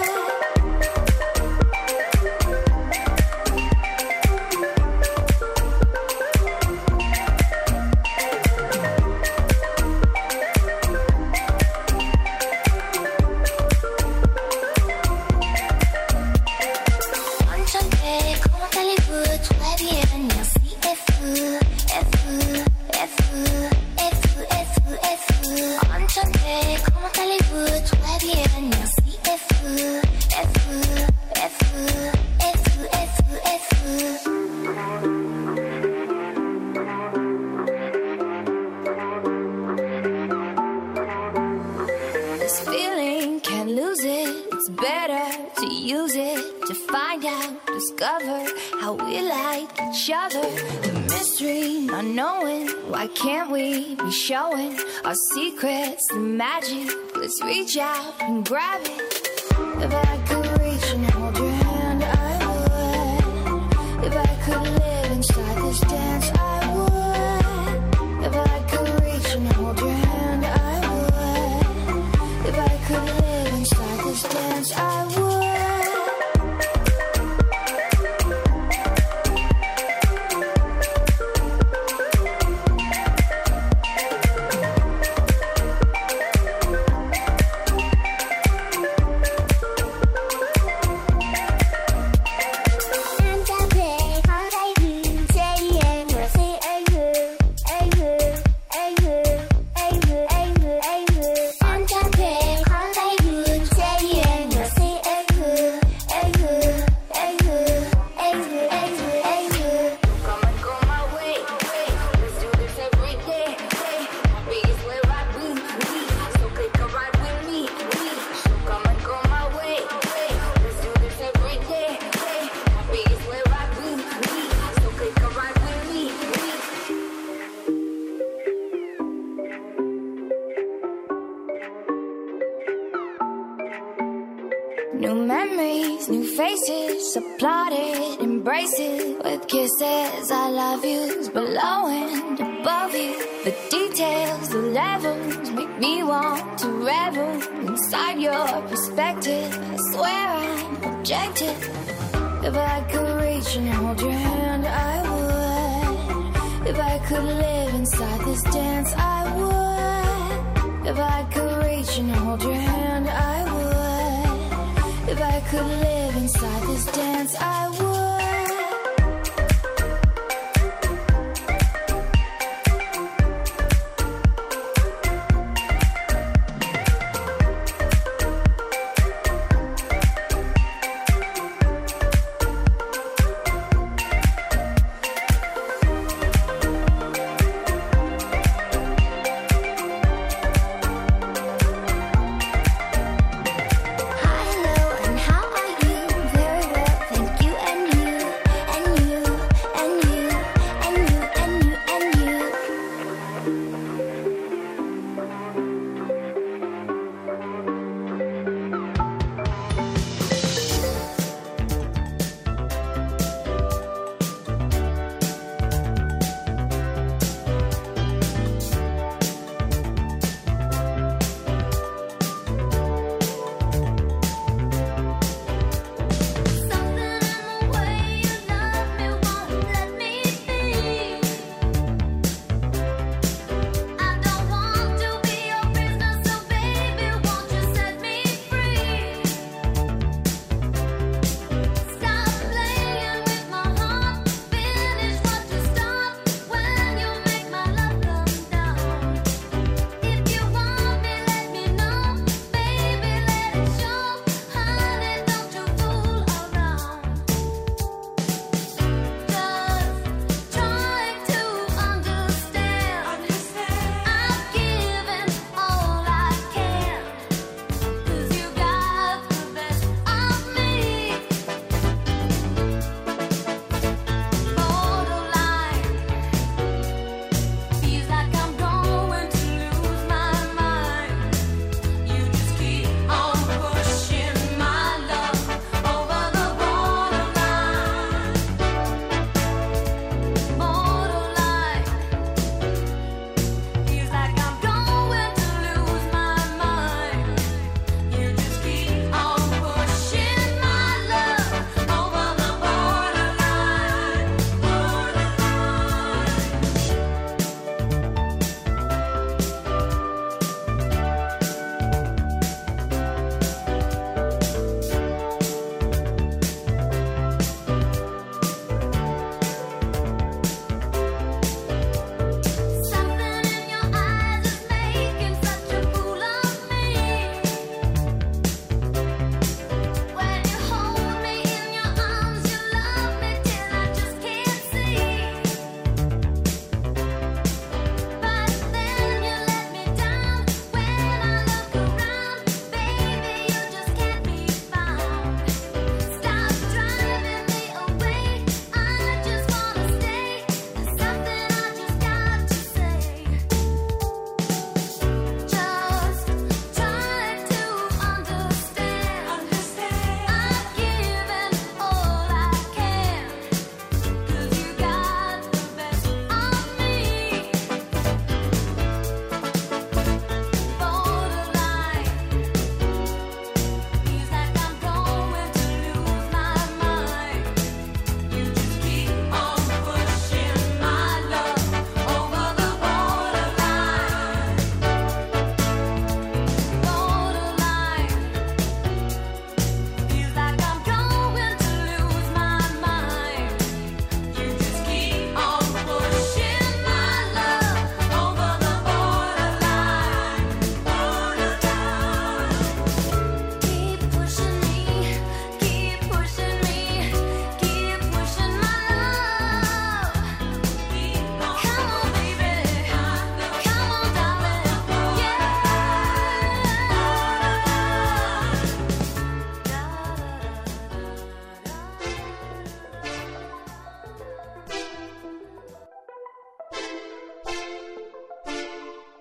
Speaker 9: Showing our secrets, the magic. Let's reach out and grab it. If I could reach and hold your hand, I would. If I could live inside this dance, I would. If I could reach and hold your hand, I would. If I could live inside this dance, I would.
Speaker 15: New memories, new faces, applauded, embraces with kisses. I love yous below and above you. The details, the levels make me want to revel inside your perspective. I swear I'm objective. If I could reach and hold your hand, I would. If I could live inside this dance, I would. If I could reach and hold your hand, I would. If I could live inside this dance, I would.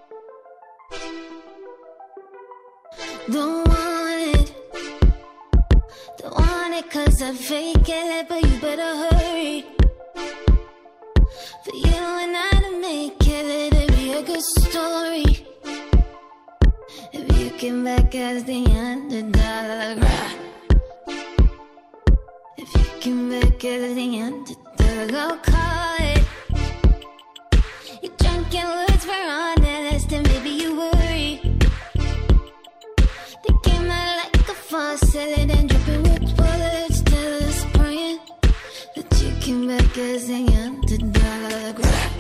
Speaker 9: Don't want it.
Speaker 15: it cause I fake it, but you better hurry. For you and I to make it, it'd be a good story. If you came back as the underdog, if you came back as the underdog, I'll call it. You're drunk in words for honest, and maybe you worry. They came out like a faucet and dripping with bullets, till us praying that you came back as the underdog.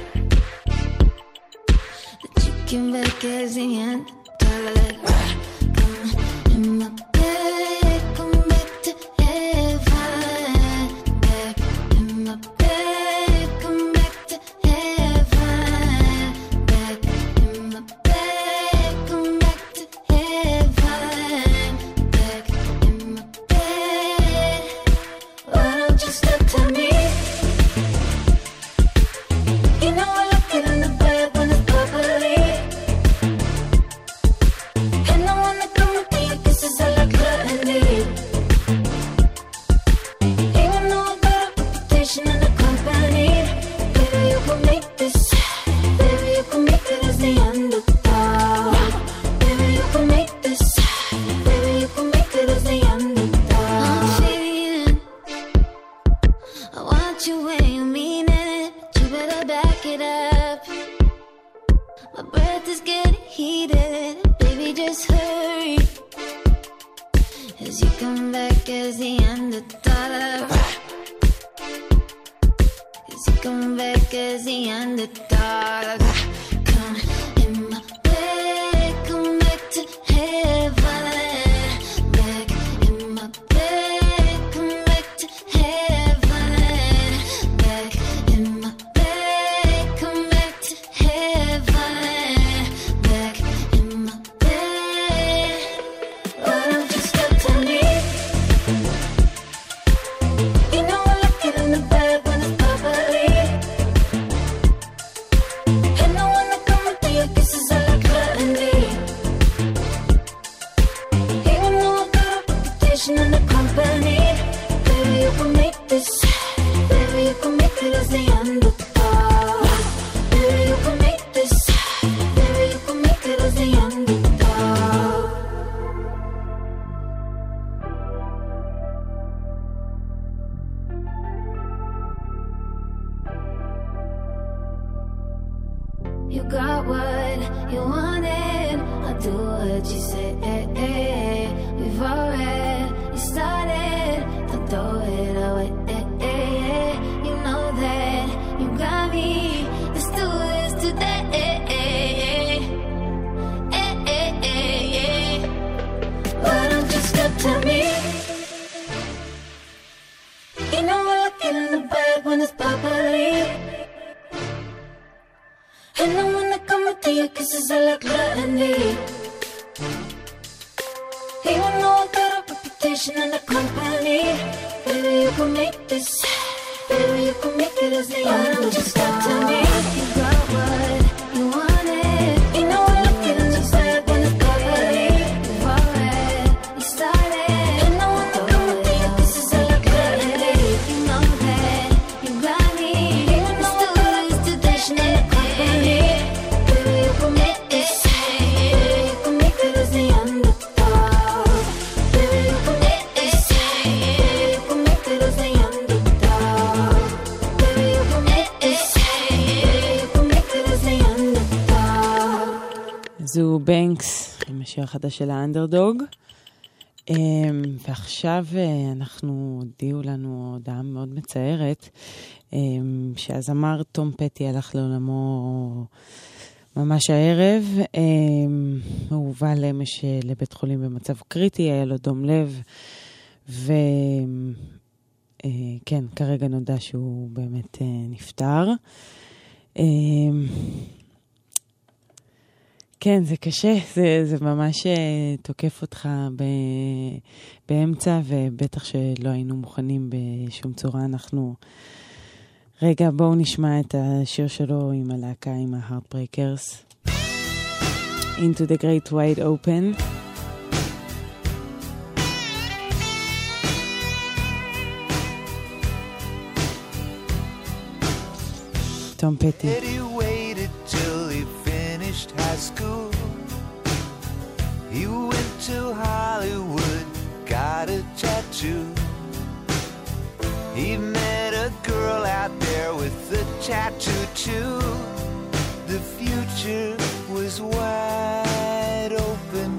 Speaker 15: That you came back as the underdog. Come in my bed, come back to heaven. Back in my bed, come back to heaven. Back in my bed, come back to heaven. Back in my bed. Why don't you step to me? You know I like it in the bed when it's bubbly. And I wanna come with you, kisses I like gluttony. Even though I got a reputation in the company, baby you can make this, baby you can make it as the underdog. Baby you can make this, baby you can make it as the underdog. I'm feeling, I want you when you mean it, but you better back it up. My breath is getting heated, baby just hurry. As you come back as the underdog. As you come back as the underdog. Come in my bed, come back to heaven. Back in my bed, come back to heaven. Back in my bed, come back to heaven. Back in my bed. Why don't you step to me? You know I like it in the bed when it's bubbly. And I wanna come with you, kisses I like gluttony. Even though I got a reputation in the company, baby you can make this, baby you can make it as the underdog. Baby you can make this, baby you can make it as the underdog. You got what you wanted, I'll do what you say. We've already started, don't throw it away. You know that you got me, let's do this today. Why don't you step to me? You know I like it in the bed when it's bubbly. And I wanna come with you, kisses I like gluttony. Even though I got a reputation in the company, baby you can make this, baby you can make it as the underdog. Why don't you step to me? You got what you wanted. You know I like it in the bed when it's bubbly. We've already started. And I wanna come with you, kisses I like gluttony. You know that you got me. Even though I got a reputation in the company, baby you can make this, baby you can make it as the underdog. Baby you can make this, baby you can make it as the underdog. Baby you can make this, baby you can make it as the underdog.
Speaker 7: זו בנקס, עם השיר החדש של האנדרדוג. ועכשיו אנחנו הודיעו לנו הודעה מאוד מצערת, שהזמר תום פטי הלך לעולמו ממש הערב. הוא הובא למש לבית חולים במצב קריטי, היה לו דום לב, וכן, כרגע נודע שהוא באמת נפטר. כן, זה קשה, זה, זה ממש תוקף אותך ב, באמצע, ובטח שלא היינו מוכנים בשום צורה. אנחנו, רגע, בואו נשמע את השיר שלו עם הלהקה, עם ה-Heartbreakers. Into the Great Wide Open. תום פטי.
Speaker 18: That he waited till he finished high school. He went to Hollywood, got a tattoo. He met a girl out there with a tattoo too. The future was wide open.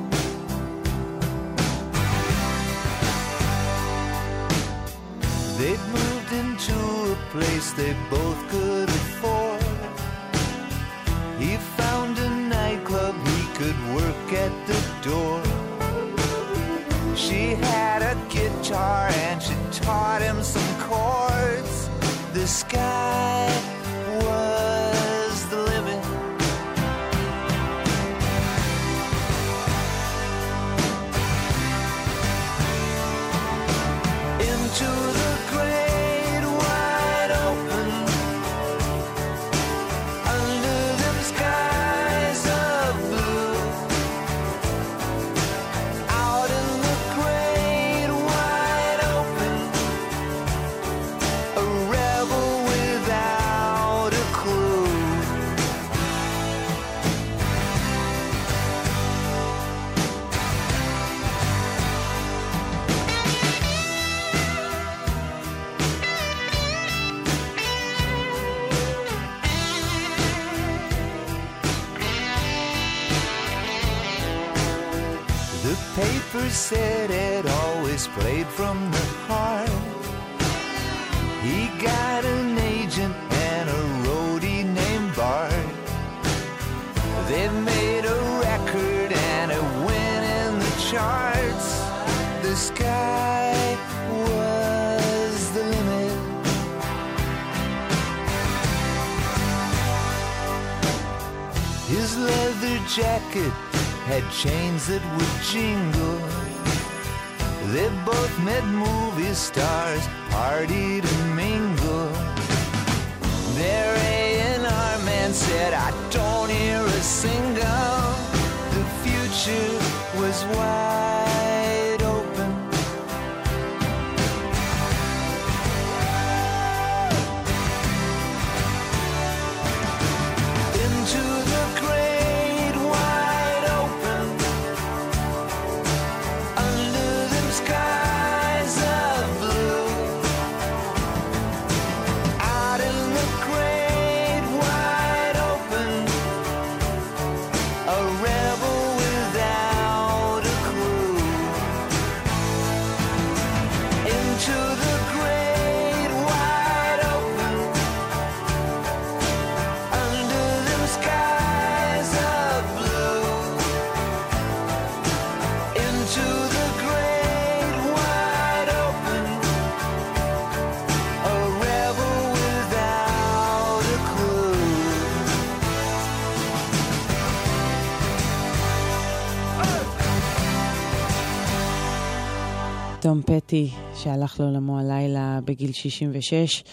Speaker 18: They'd moved into a place they both could afford. He found a nightclub he could work at the door. She had a guitar and she taught him some chords. The sky was the limit. Into the great wide open, under them skies of blue, out in the great wide open, a rebel without a clue. The paper said it always played from the heart. He got an agent and a roadie named Bart. They made a record and it went in the charts. The sky was the limit. His leather jacket had chains that would jingle. They both met movie stars, partied and mingled. Their A and R man said, I don't hear a single. The future was wide open. Into the great wide open, under them skies of blue, out in the great wide open, a rebel without a clue. Into the great wide open, under them skies of blue, into the great wide open, a rebel without a clue.
Speaker 7: תום פטי, שהלך לעולמו הלילה בגיל שישים ושש,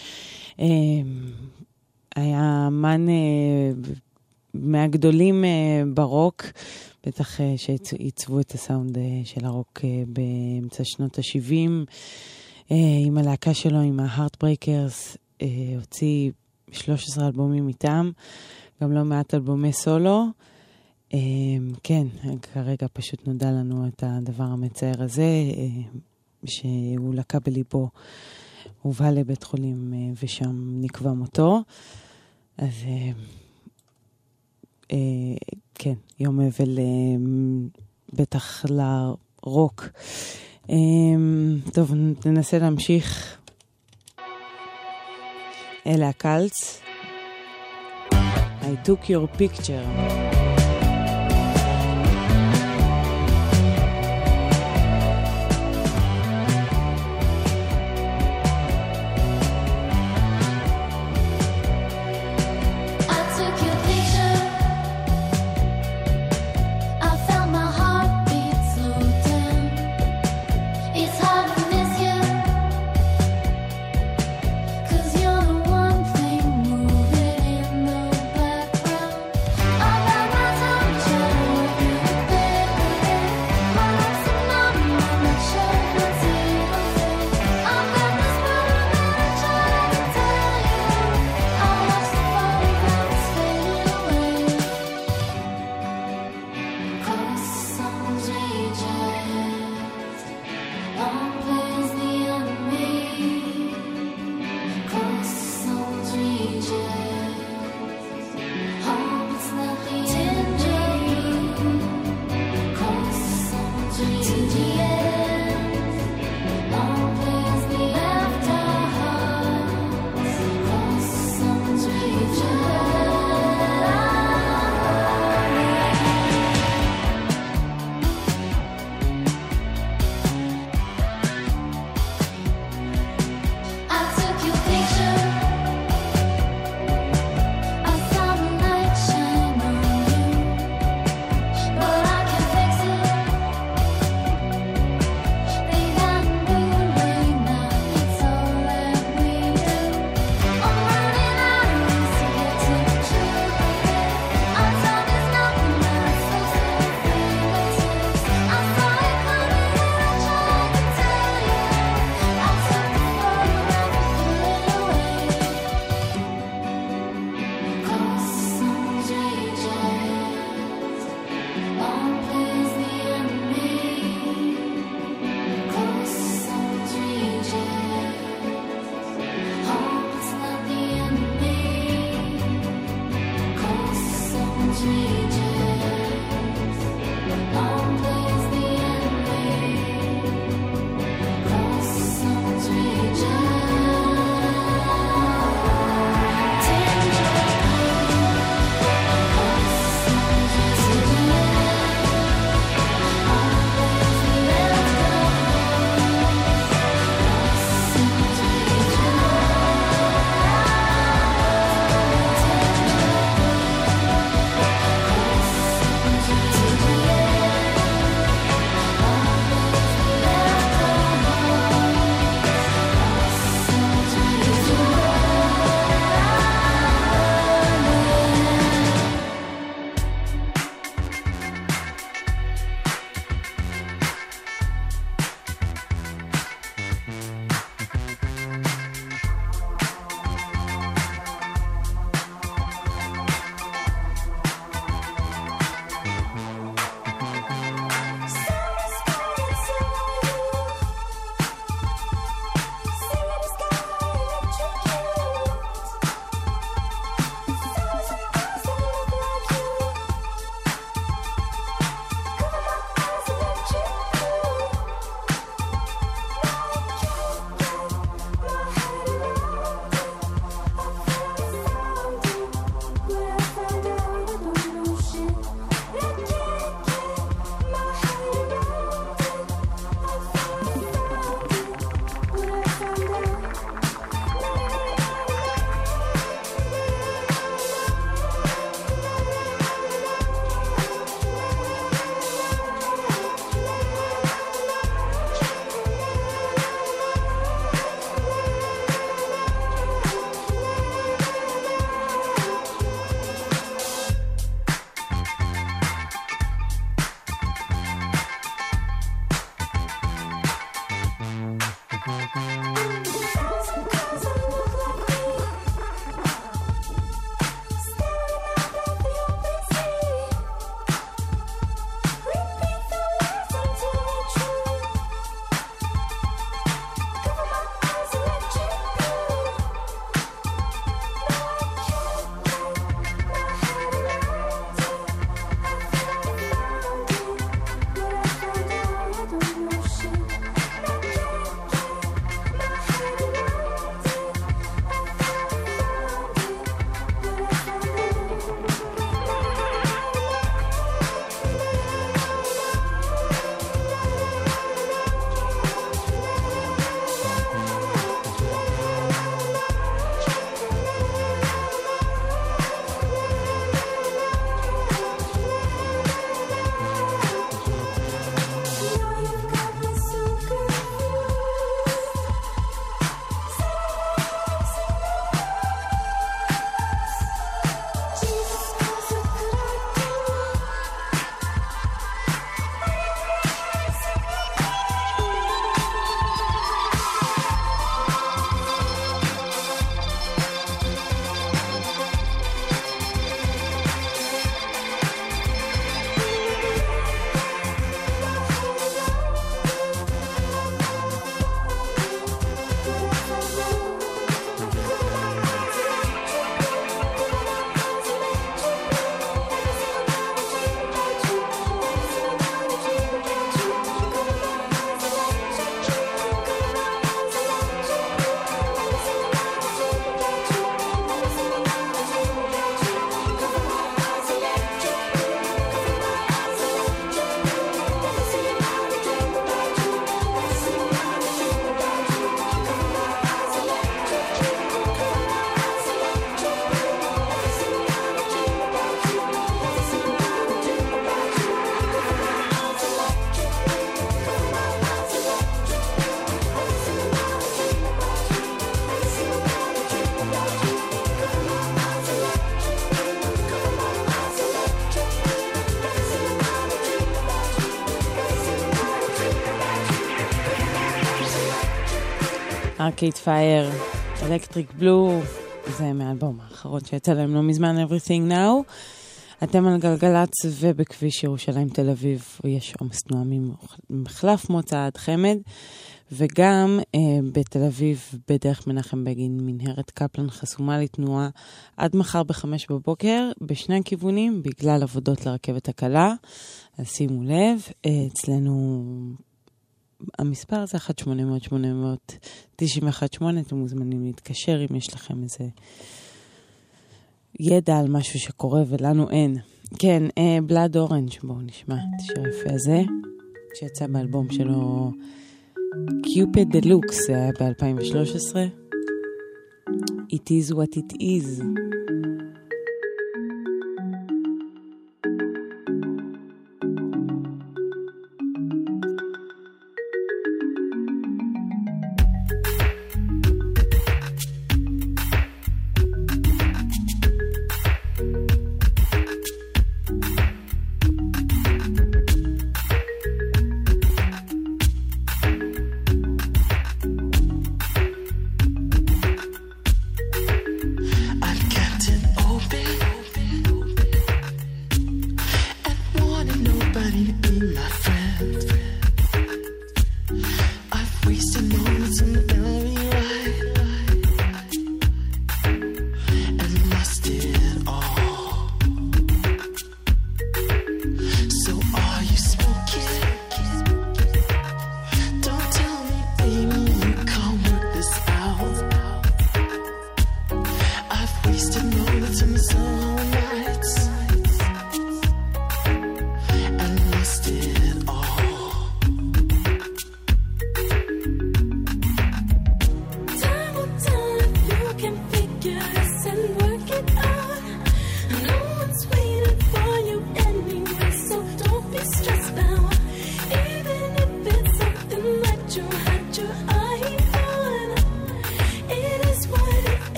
Speaker 7: היה אמן מהגדולים ברוק, בטח שעיצבו את הסאונד של הרוק באמצע שנות ה-שבעים, עם הלהקה שלו, עם ה-Heartbreakers, הוציא שלושה עשר אלבומים איתם, גם לא מעט אלבומי סולו. כן, כרגע פשוט נודע לנו את הדבר המצער הזה, שהוא לקה בליבו, הובא לבית חולים ושם נקבע מותו. אז כן, יום אבל בטח לרוק. טוב, ננסה להמשיך. אלה הקלץ. I took your picture.
Speaker 15: All by my
Speaker 7: ארקייד פייר, אלקטריק בלו, זה מהאלבום האחרון שיצא להם לא מזמן, Everything Now. אתם על גלגלץ ובכביש ירושלים תל אביב, יש עומס תנועה ממחלף מוצא עד חמד, וגם אה, בתל אביב בדרך מנחם בגין מנהרת קפלן חסומה לתנועה עד מחר בחמש בבוקר בשני הכיוונים בגלל עבודות לרכבת הקלה. אז שימו לב, אה, אצלנו המספר זה אחת שמונה אפס אפס שמונה תשע אחת שמונה, אתם מוזמנים להתקשר אם יש לכם איזה ידע על משהו שקורה ולנו אין. כן, אה, בלאד אורנג', בואו נשמע את השיר היפה הזה שיצא באלבום שלו קיופד דלוקס, זה היה ב-אלפיים ושלוש עשרה. It is what it is.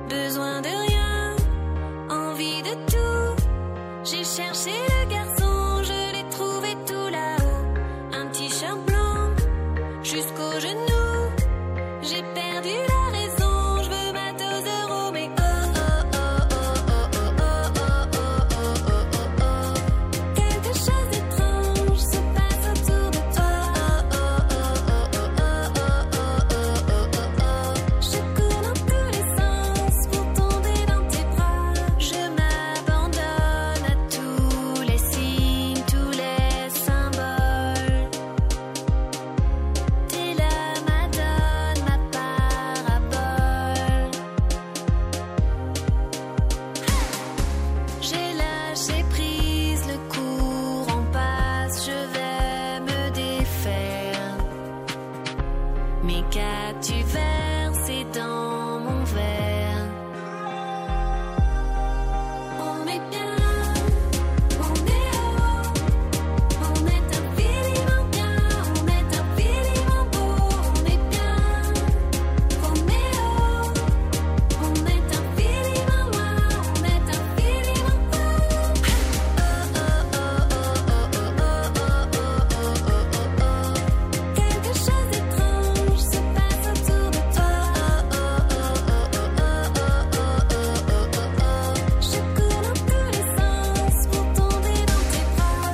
Speaker 9: besoin de rien, envie de tout. J'ai cherché le garçon, je l'ai trouvé tout là-haut. Un t-shirt blanc jusqu'aux genoux. J'ai perdu la raison, je veux ma dose d'euros, mais oh oh oh oh oh oh oh oh oh oh oh oh. Quelque chose d'étrange se passe autour de toi. Oh oh oh oh oh oh oh oh oh oh oh. Je cours dans tous les sens pour tomber dans tes bras. Je m'abandonne à tous les signes, tous les symboles. T'es la madone, ma parabole. J'ai lâché prise, le courant passe, je vais me défaire. Mais qu'as-tu versé dans mon verre? On est bien, on est haut, on est infiniment bien, on est infiniment beau, on est bien, Roméo, on est infiniment loin, on est infiniment beau. Oh oh oh oh oh oh oh oh oh oh oh. Quelque chose d'étrange se passe autour de toi. Oh oh oh oh oh oh oh oh oh oh. Je cours dans tous les sens pour tomber dans tes bras.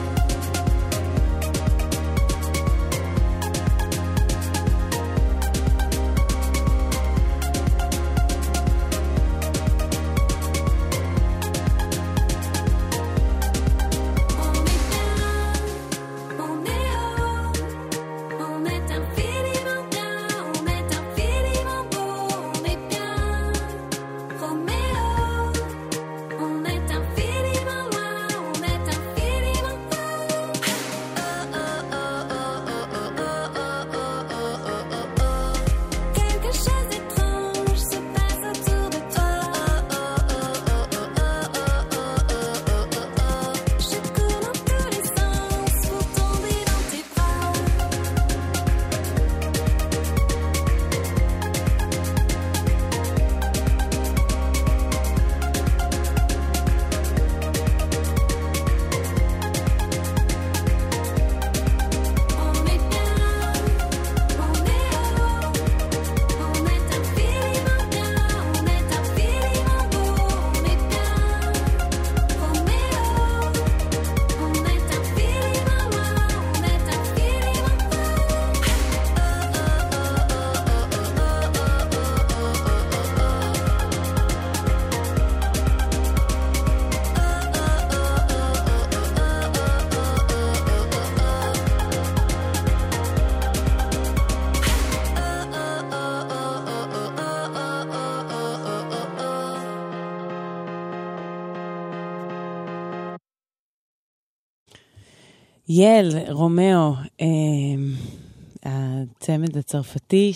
Speaker 9: On est haut, on est infiniment bien, on est infiniment beau, on est bien, Roméo, on est infiniment loin, on est infiniment beau. Oh oh oh oh oh oh oh oh oh oh oh. Quelque chose d'étrange se passe autour de toi. Oh oh oh oh oh oh oh oh oh oh. Je cours dans tous les sens pour tomber dans tes bras. On est bien, on est haut, on est infiniment bien, on est infiniment beau, on est bien, Roméo, on est infiniment loin, on est infiniment beau. Oh oh
Speaker 7: יל, רומאו, אה, הצמד הצרפתי,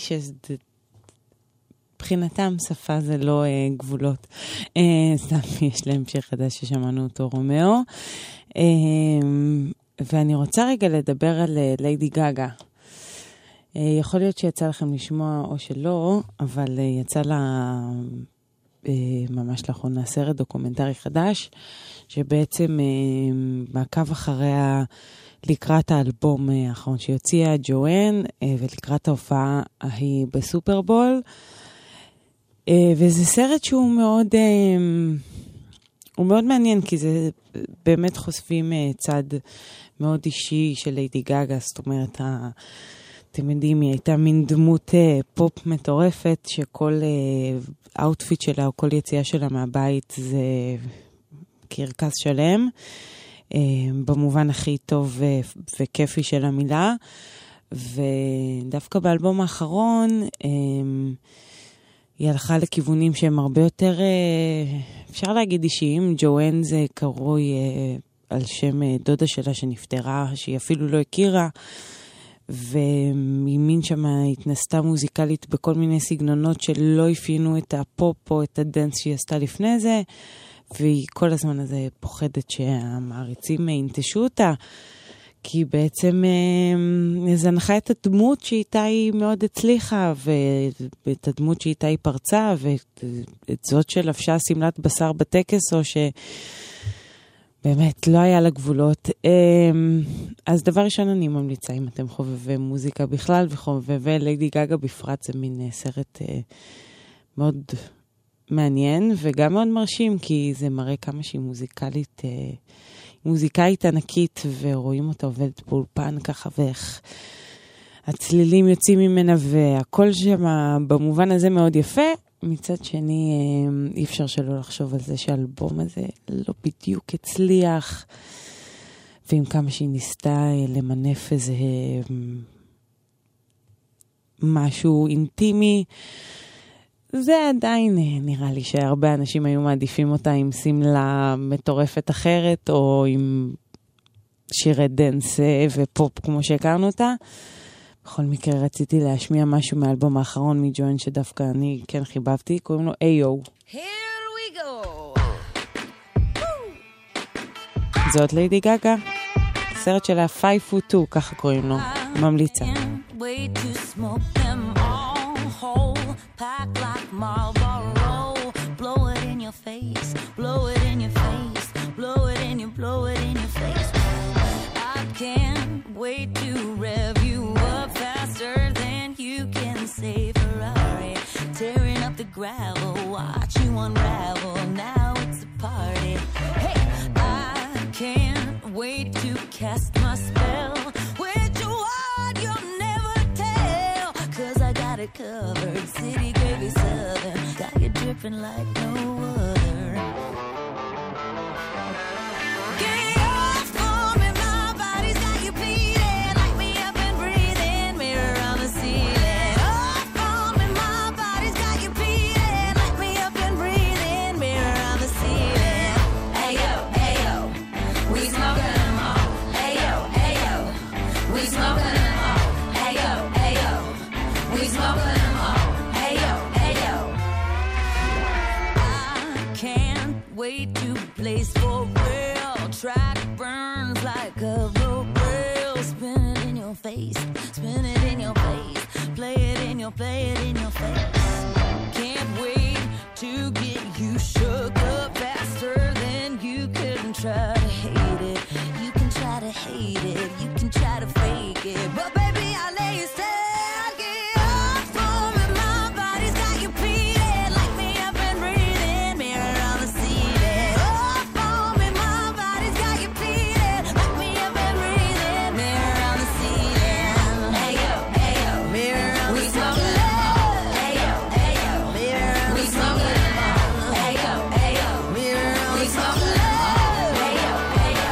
Speaker 7: שבחינתם שפה זה לא אה, גבולות. אה, סתם, יש להם שיר חדש ששמענו אותו, רומאו. אה, ואני רוצה רגע לדבר על אה, ליידי גגה. אה, יכול להיות שיצא לכם לשמוע או שלא, אבל אה, יצא לה אה, ממש לאחרונה סרט דוקומנטרי חדש, שבעצם אה, מעקב אחריה לקראת האלבום האחרון שיוציאה, ג'ואן, ולקראת ההופעה ההיא בסופרבול. וזה סרט שהוא מאוד, הוא מאוד מעניין, כי זה באמת חושפים צד מאוד אישי של ליידי גגה, זאת אומרת, אתם יודעים, היא הייתה מין דמות פופ מטורפת, שכל אאוטפיט שלה או כל יציאה שלה מהבית זה קרקס שלם, במובן הכי טוב וכיפי של המילה. ודווקא באלבום האחרון היא הלכה לכיוונים שהם הרבה יותר, אפשר להגיד אישיים. ג'ואן זה קרוי על שם דודה שלה שנפטרה, שהיא אפילו לא הכירה, וממין שמה התנסתה מוזיקלית בכל מיני סגנונות שלא הפיינו את הפופ או את הדנס שהיא עשתה לפני זה, והיא כל הזמן הזה פוחדת שהמעריצים ינטשו אותה, כי בעצם אה, זנחה את הדמות שאיתה היא מאוד הצליחה, ואת הדמות שאיתה היא פרצה, ואת זאת שלבשה סמלת בשר בטקס, או ש... באמת, לא היה לה גבולות. אז דבר ראשון אני ממליצה, אם אתם חובבי מוזיקה בכלל, וחובבי ליידי גגה בפרט, זה מין סרט מאוד מעניין, וגם מאוד מרשים, כי זה מראה כמה שהיא מוזיקלית, מוזיקאית ענקית, ורואים אותה עובדת באולפן ככה, ואיך הצלילים יוצאים ממנה, והכל שם במובן הזה מאוד יפה. מצד שני, אי אפשר שלא לחשוב על זה שהאלבום הזה לא בדיוק הצליח, ועם כמה שהיא ניסתה למנף איזה משהו אינטימי, זה עדיין נראה לי שהרבה אנשים היו מעדיפים אותה עם סמלה מטורפת אחרת, או עם שירי דנס ופופ כמו שהכרנו אותה. בכל מקרה רציתי להשמיע משהו מהאלבום האחרון מג'וין שדווקא אני כן חיבבתי, קוראים לו איי-או.
Speaker 9: Here we go.
Speaker 7: זאת ליידי גגה, סרט שלה Five Foot Two, ככה קוראים לו, ממליצה.
Speaker 4: Wait to smoke them all whole, pack like Marlboro, blow it in your face, blow it in your face, blow it in your, blow it in your face. I can't wait to rev you up faster than you can say Ferrari, tearing up the gravel, watch you unravel, now it's a party. Hey, I can't wait to cast my spell, with your word you'll never tell, cause I got it covered, city gravy southern, got you dripping like no other. Get off on me, my body's got you bleeding, light me up and breathing, mirror on the ceiling. Off on me, my body's got you bleeding, light me up and breathing, mirror on the ceiling. Ayo, ayo, we smoking them all. Ayo, ayo, we smoking them all. Ayo, ayo, we smoking them all. Ayo, ayo. I can't wait to blaze for real. Track burns like a rope rail. Spin it in your face, spin it in your face. Play it in your, play it in your face. Can't wait to get you shook up faster than you can try to hate it. You can try to hate it, you can try to fake it, but baby I lay you still. Get off for me, my body's got you pleading, light me up and breathing, mirror on the ceiling. Off for me, my body's got you pleading, light me up and breathing, mirror on the ceiling. Ayo, ayo, mirror on the ceiling. Ayo, ayo, mirror on the ceiling. Ayo, ayo, mirror on the ceiling. Ayo, ayo.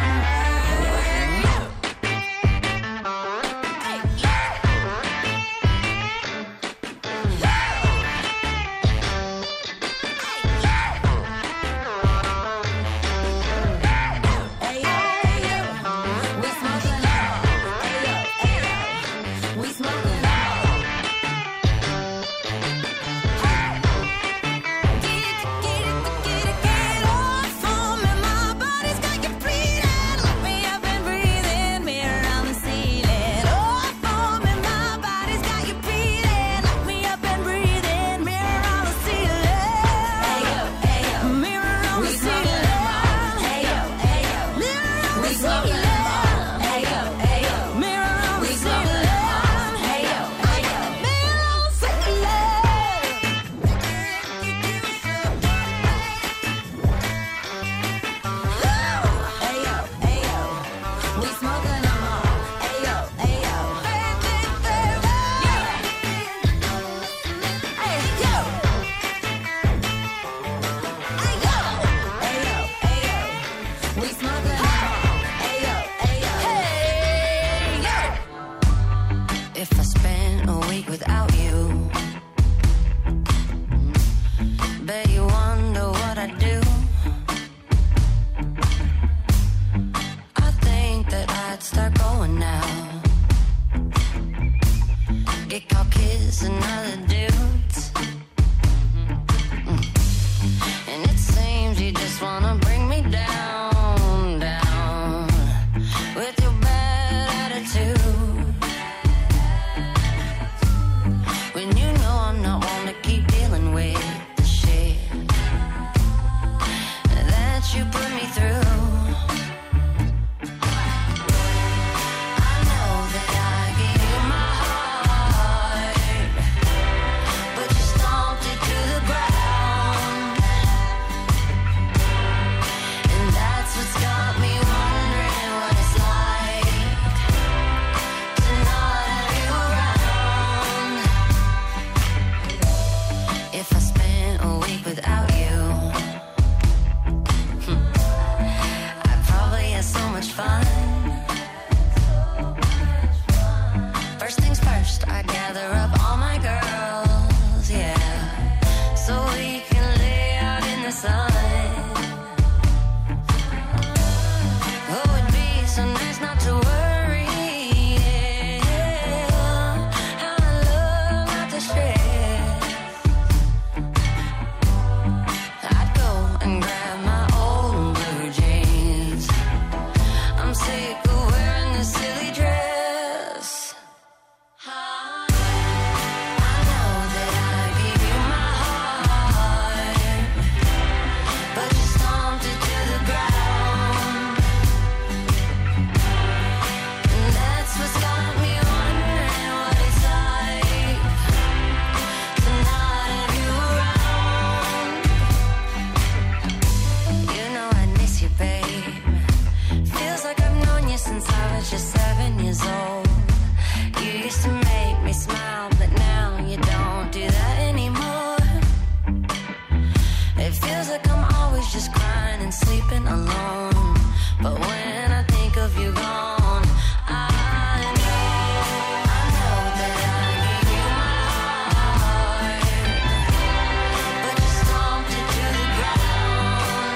Speaker 4: If I spend a week without you, bet you wonder what I do. I think that I'd start going now, get caught kissing other dudes, mm. And it seems you just wanna bring me down, down with your bad
Speaker 9: sun. Oh, it'd be so nice not to worry. Yeah. How I love not to stress. I'd go and grab my old blue jeans. I'm sick of wearing this silly dress. I know that I gave you my heart, but you stomped it to the ground. And that's what's got me wondering what it's like to not have you around. You know I miss you, babe. Feels like I've known you since I was just seven years old. You used to make me smile, but now you don't do that anymore. It feels like I'm always just crying and sleeping alone. But when I think of you gone, I know, I know that I gave you my heart, but you stomped it to the ground.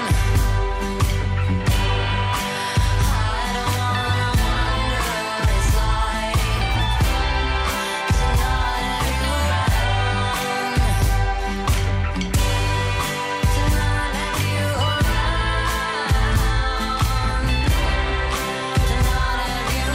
Speaker 9: I don't wanna wonder what it's like to not have you around, to not have you around, to not have you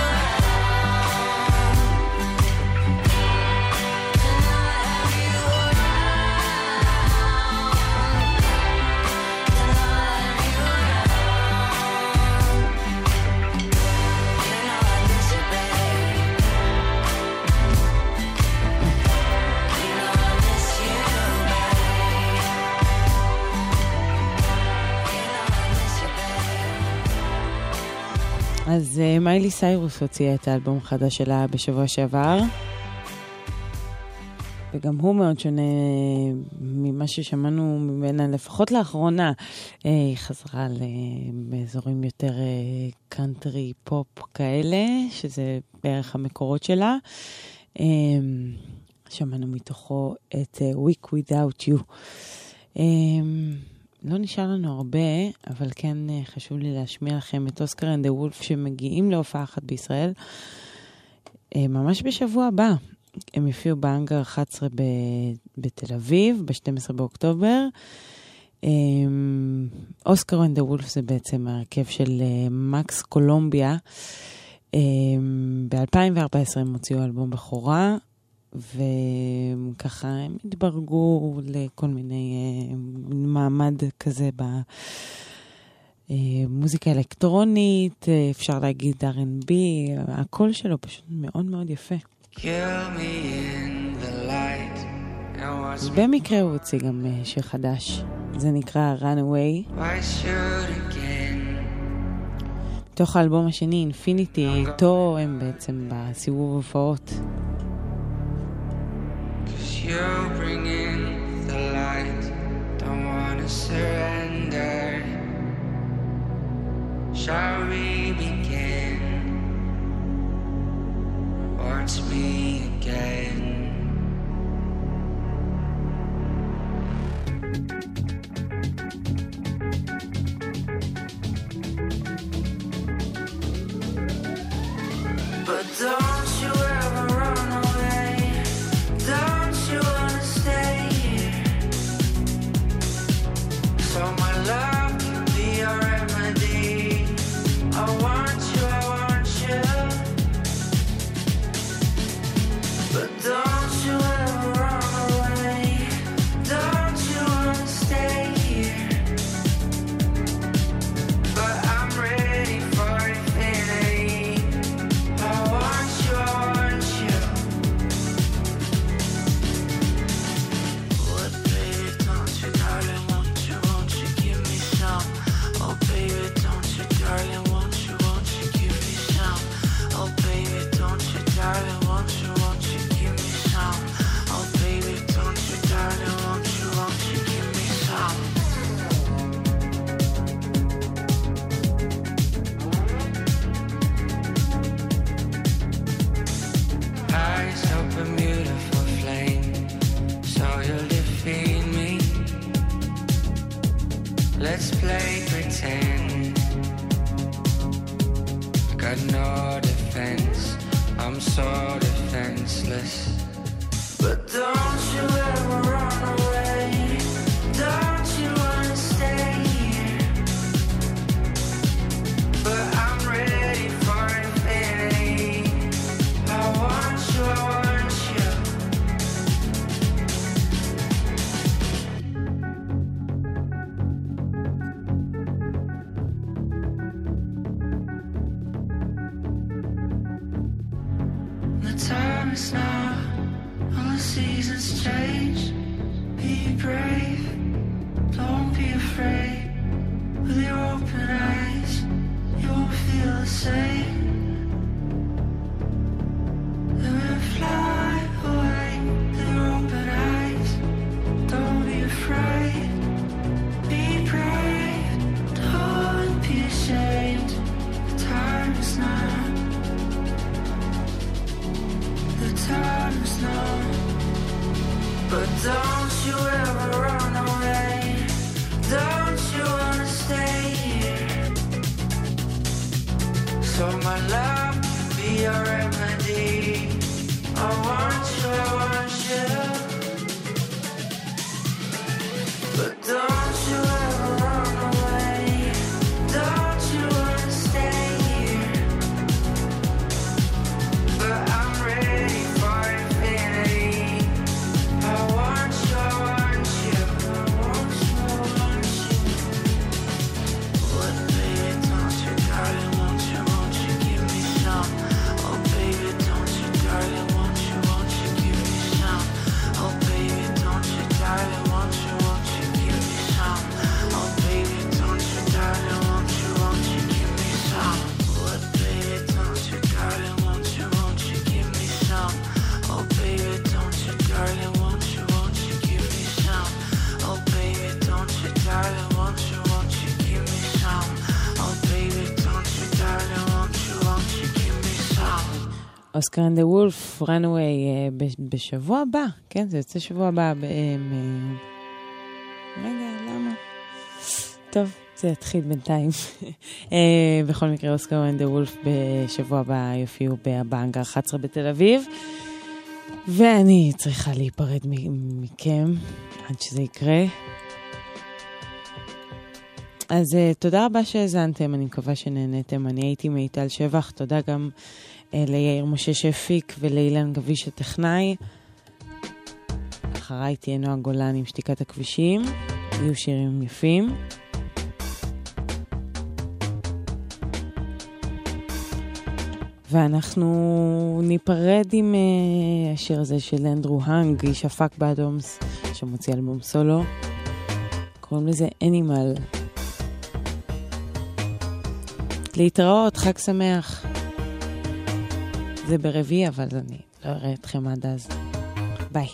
Speaker 7: אז uh, מיילי סיירוס הוציאה את האלבום החדש שלה בשבוע שעבר, וגם הוא מאוד שונה ממה ששמענו ממנה, לפחות לאחרונה. Uh, היא חזרה באזורים יותר קאנטרי uh, פופ כאלה, שזה בערך המקורות שלה. Uh, שמענו מתוכו את uh, Week Without You. Uh, לא נשאר לנו הרבה, אבל כן חשוב לי להשמיע לכם את אוסקר אנד דה וולף שמגיעים להופעה אחת בישראל ממש בשבוע הבא. הם יופיעו באנגר אחת עשרה בתל אביב, ב-שנים עשר באוקטובר. אוסקר אנד דה וולף זה בעצם הרכב של מקס קולומביה. ב-אלפיים וארבע עשרה הם הוציאו אלבום בכורה, וככה הם התברגו לכל מיני uh, מעמד כזה במוזיקה אלקטרונית, uh, אפשר להגיד אר אנד בי, הקול שלו פשוט מאוד מאוד יפה. אז במקרה הוא הוציא גם uh, שיר חדש, זה נקרא Runaway. מתוך האלבום השני, Infinity, איתו הם בעצם בסיבוב הופעות.
Speaker 19: You're bringing the light, don't wanna surrender. Shall we begin? Watch me again. But don't you ever run away. Don't you wanna stay here? So my love can be your remedy. I want you, I want you. seasons change. Be brave, don't be afraid. With your open eyes, you won't feel the same. Then we'll fly away with your open eyes. Don't be afraid, be brave, don't be ashamed. The time is now. The time is now. But don't you ever run away. Don't you wanna stay here? So my love can be your remedy. I want you, I want you. But don't you ever run away. Don't you wanna stay here? But I'm ready for infinity. I want you, I want you. I want you, I want you. What, baby, don't you, darling, won't you, won't you give me some? Oh, baby, don't you, darling, won't you, won't you give me some? Oh, baby, don't you, darling, won't you, won't you give me some? Oh, baby, don't you, darling, won't you, won't you give me some? What, baby, don't you, darling, won't you, won't you give me some? Oh, baby, don't you, darling, won't you, won't you give me some? Oh, baby, don't you, darling, won't you, won't you give me some? Oh, baby, don't you, darling, won't you, won't you give me some?
Speaker 7: אוסקר אנד דה וולף, רנווי, בשבוע הבא, כן, זה יוצא שבוע הבא. ב- מ- רגע, למה? טוב, זה יתחיל בינתיים. אה, בכל מקרה, אוסקר אנד דה וולף בשבוע הבא יופיעו באנגר אחת עשרה בתל אביב, ואני צריכה להיפרד מ- מכם עד שזה יקרה. אז uh, תודה רבה שהזנתם, אני מקווה שנהנתם. אני הייתי מיטל שבח, תודה גם uh, ליאיר משה שהפיק ולאילן גביש הטכנאי. אחריי תהיה נועה גולן עם שתיקת הכבישים, יהיו שירים יפים. ואנחנו ניפרד עם uh, השיר הזה של אנדרו הנג, איש הפק באדומס, שמוציא אלבום סולו. קוראים לזה אנימל. להתראות, חג שמח. זה ברביעי, אבל אני לא אראה אתכם עד אז. ביי.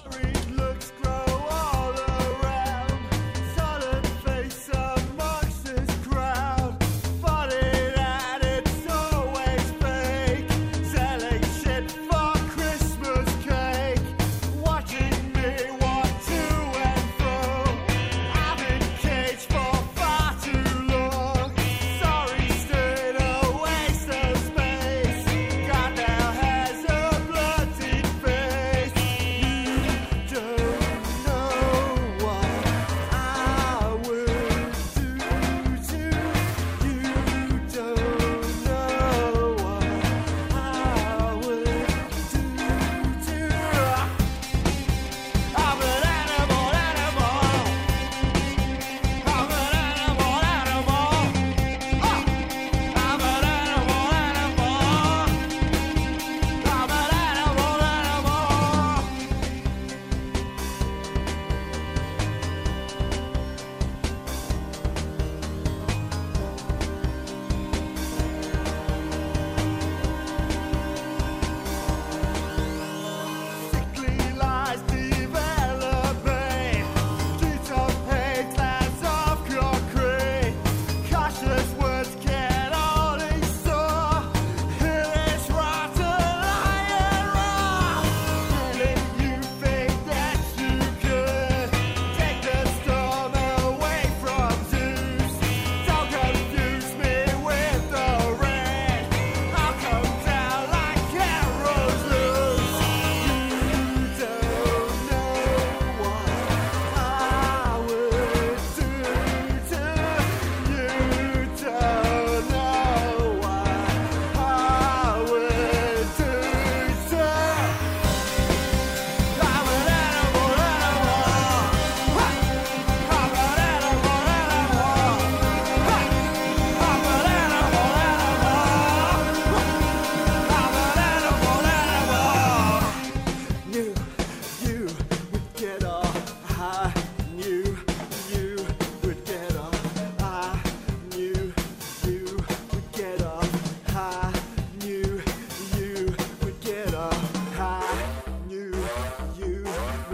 Speaker 13: Just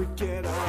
Speaker 20: forget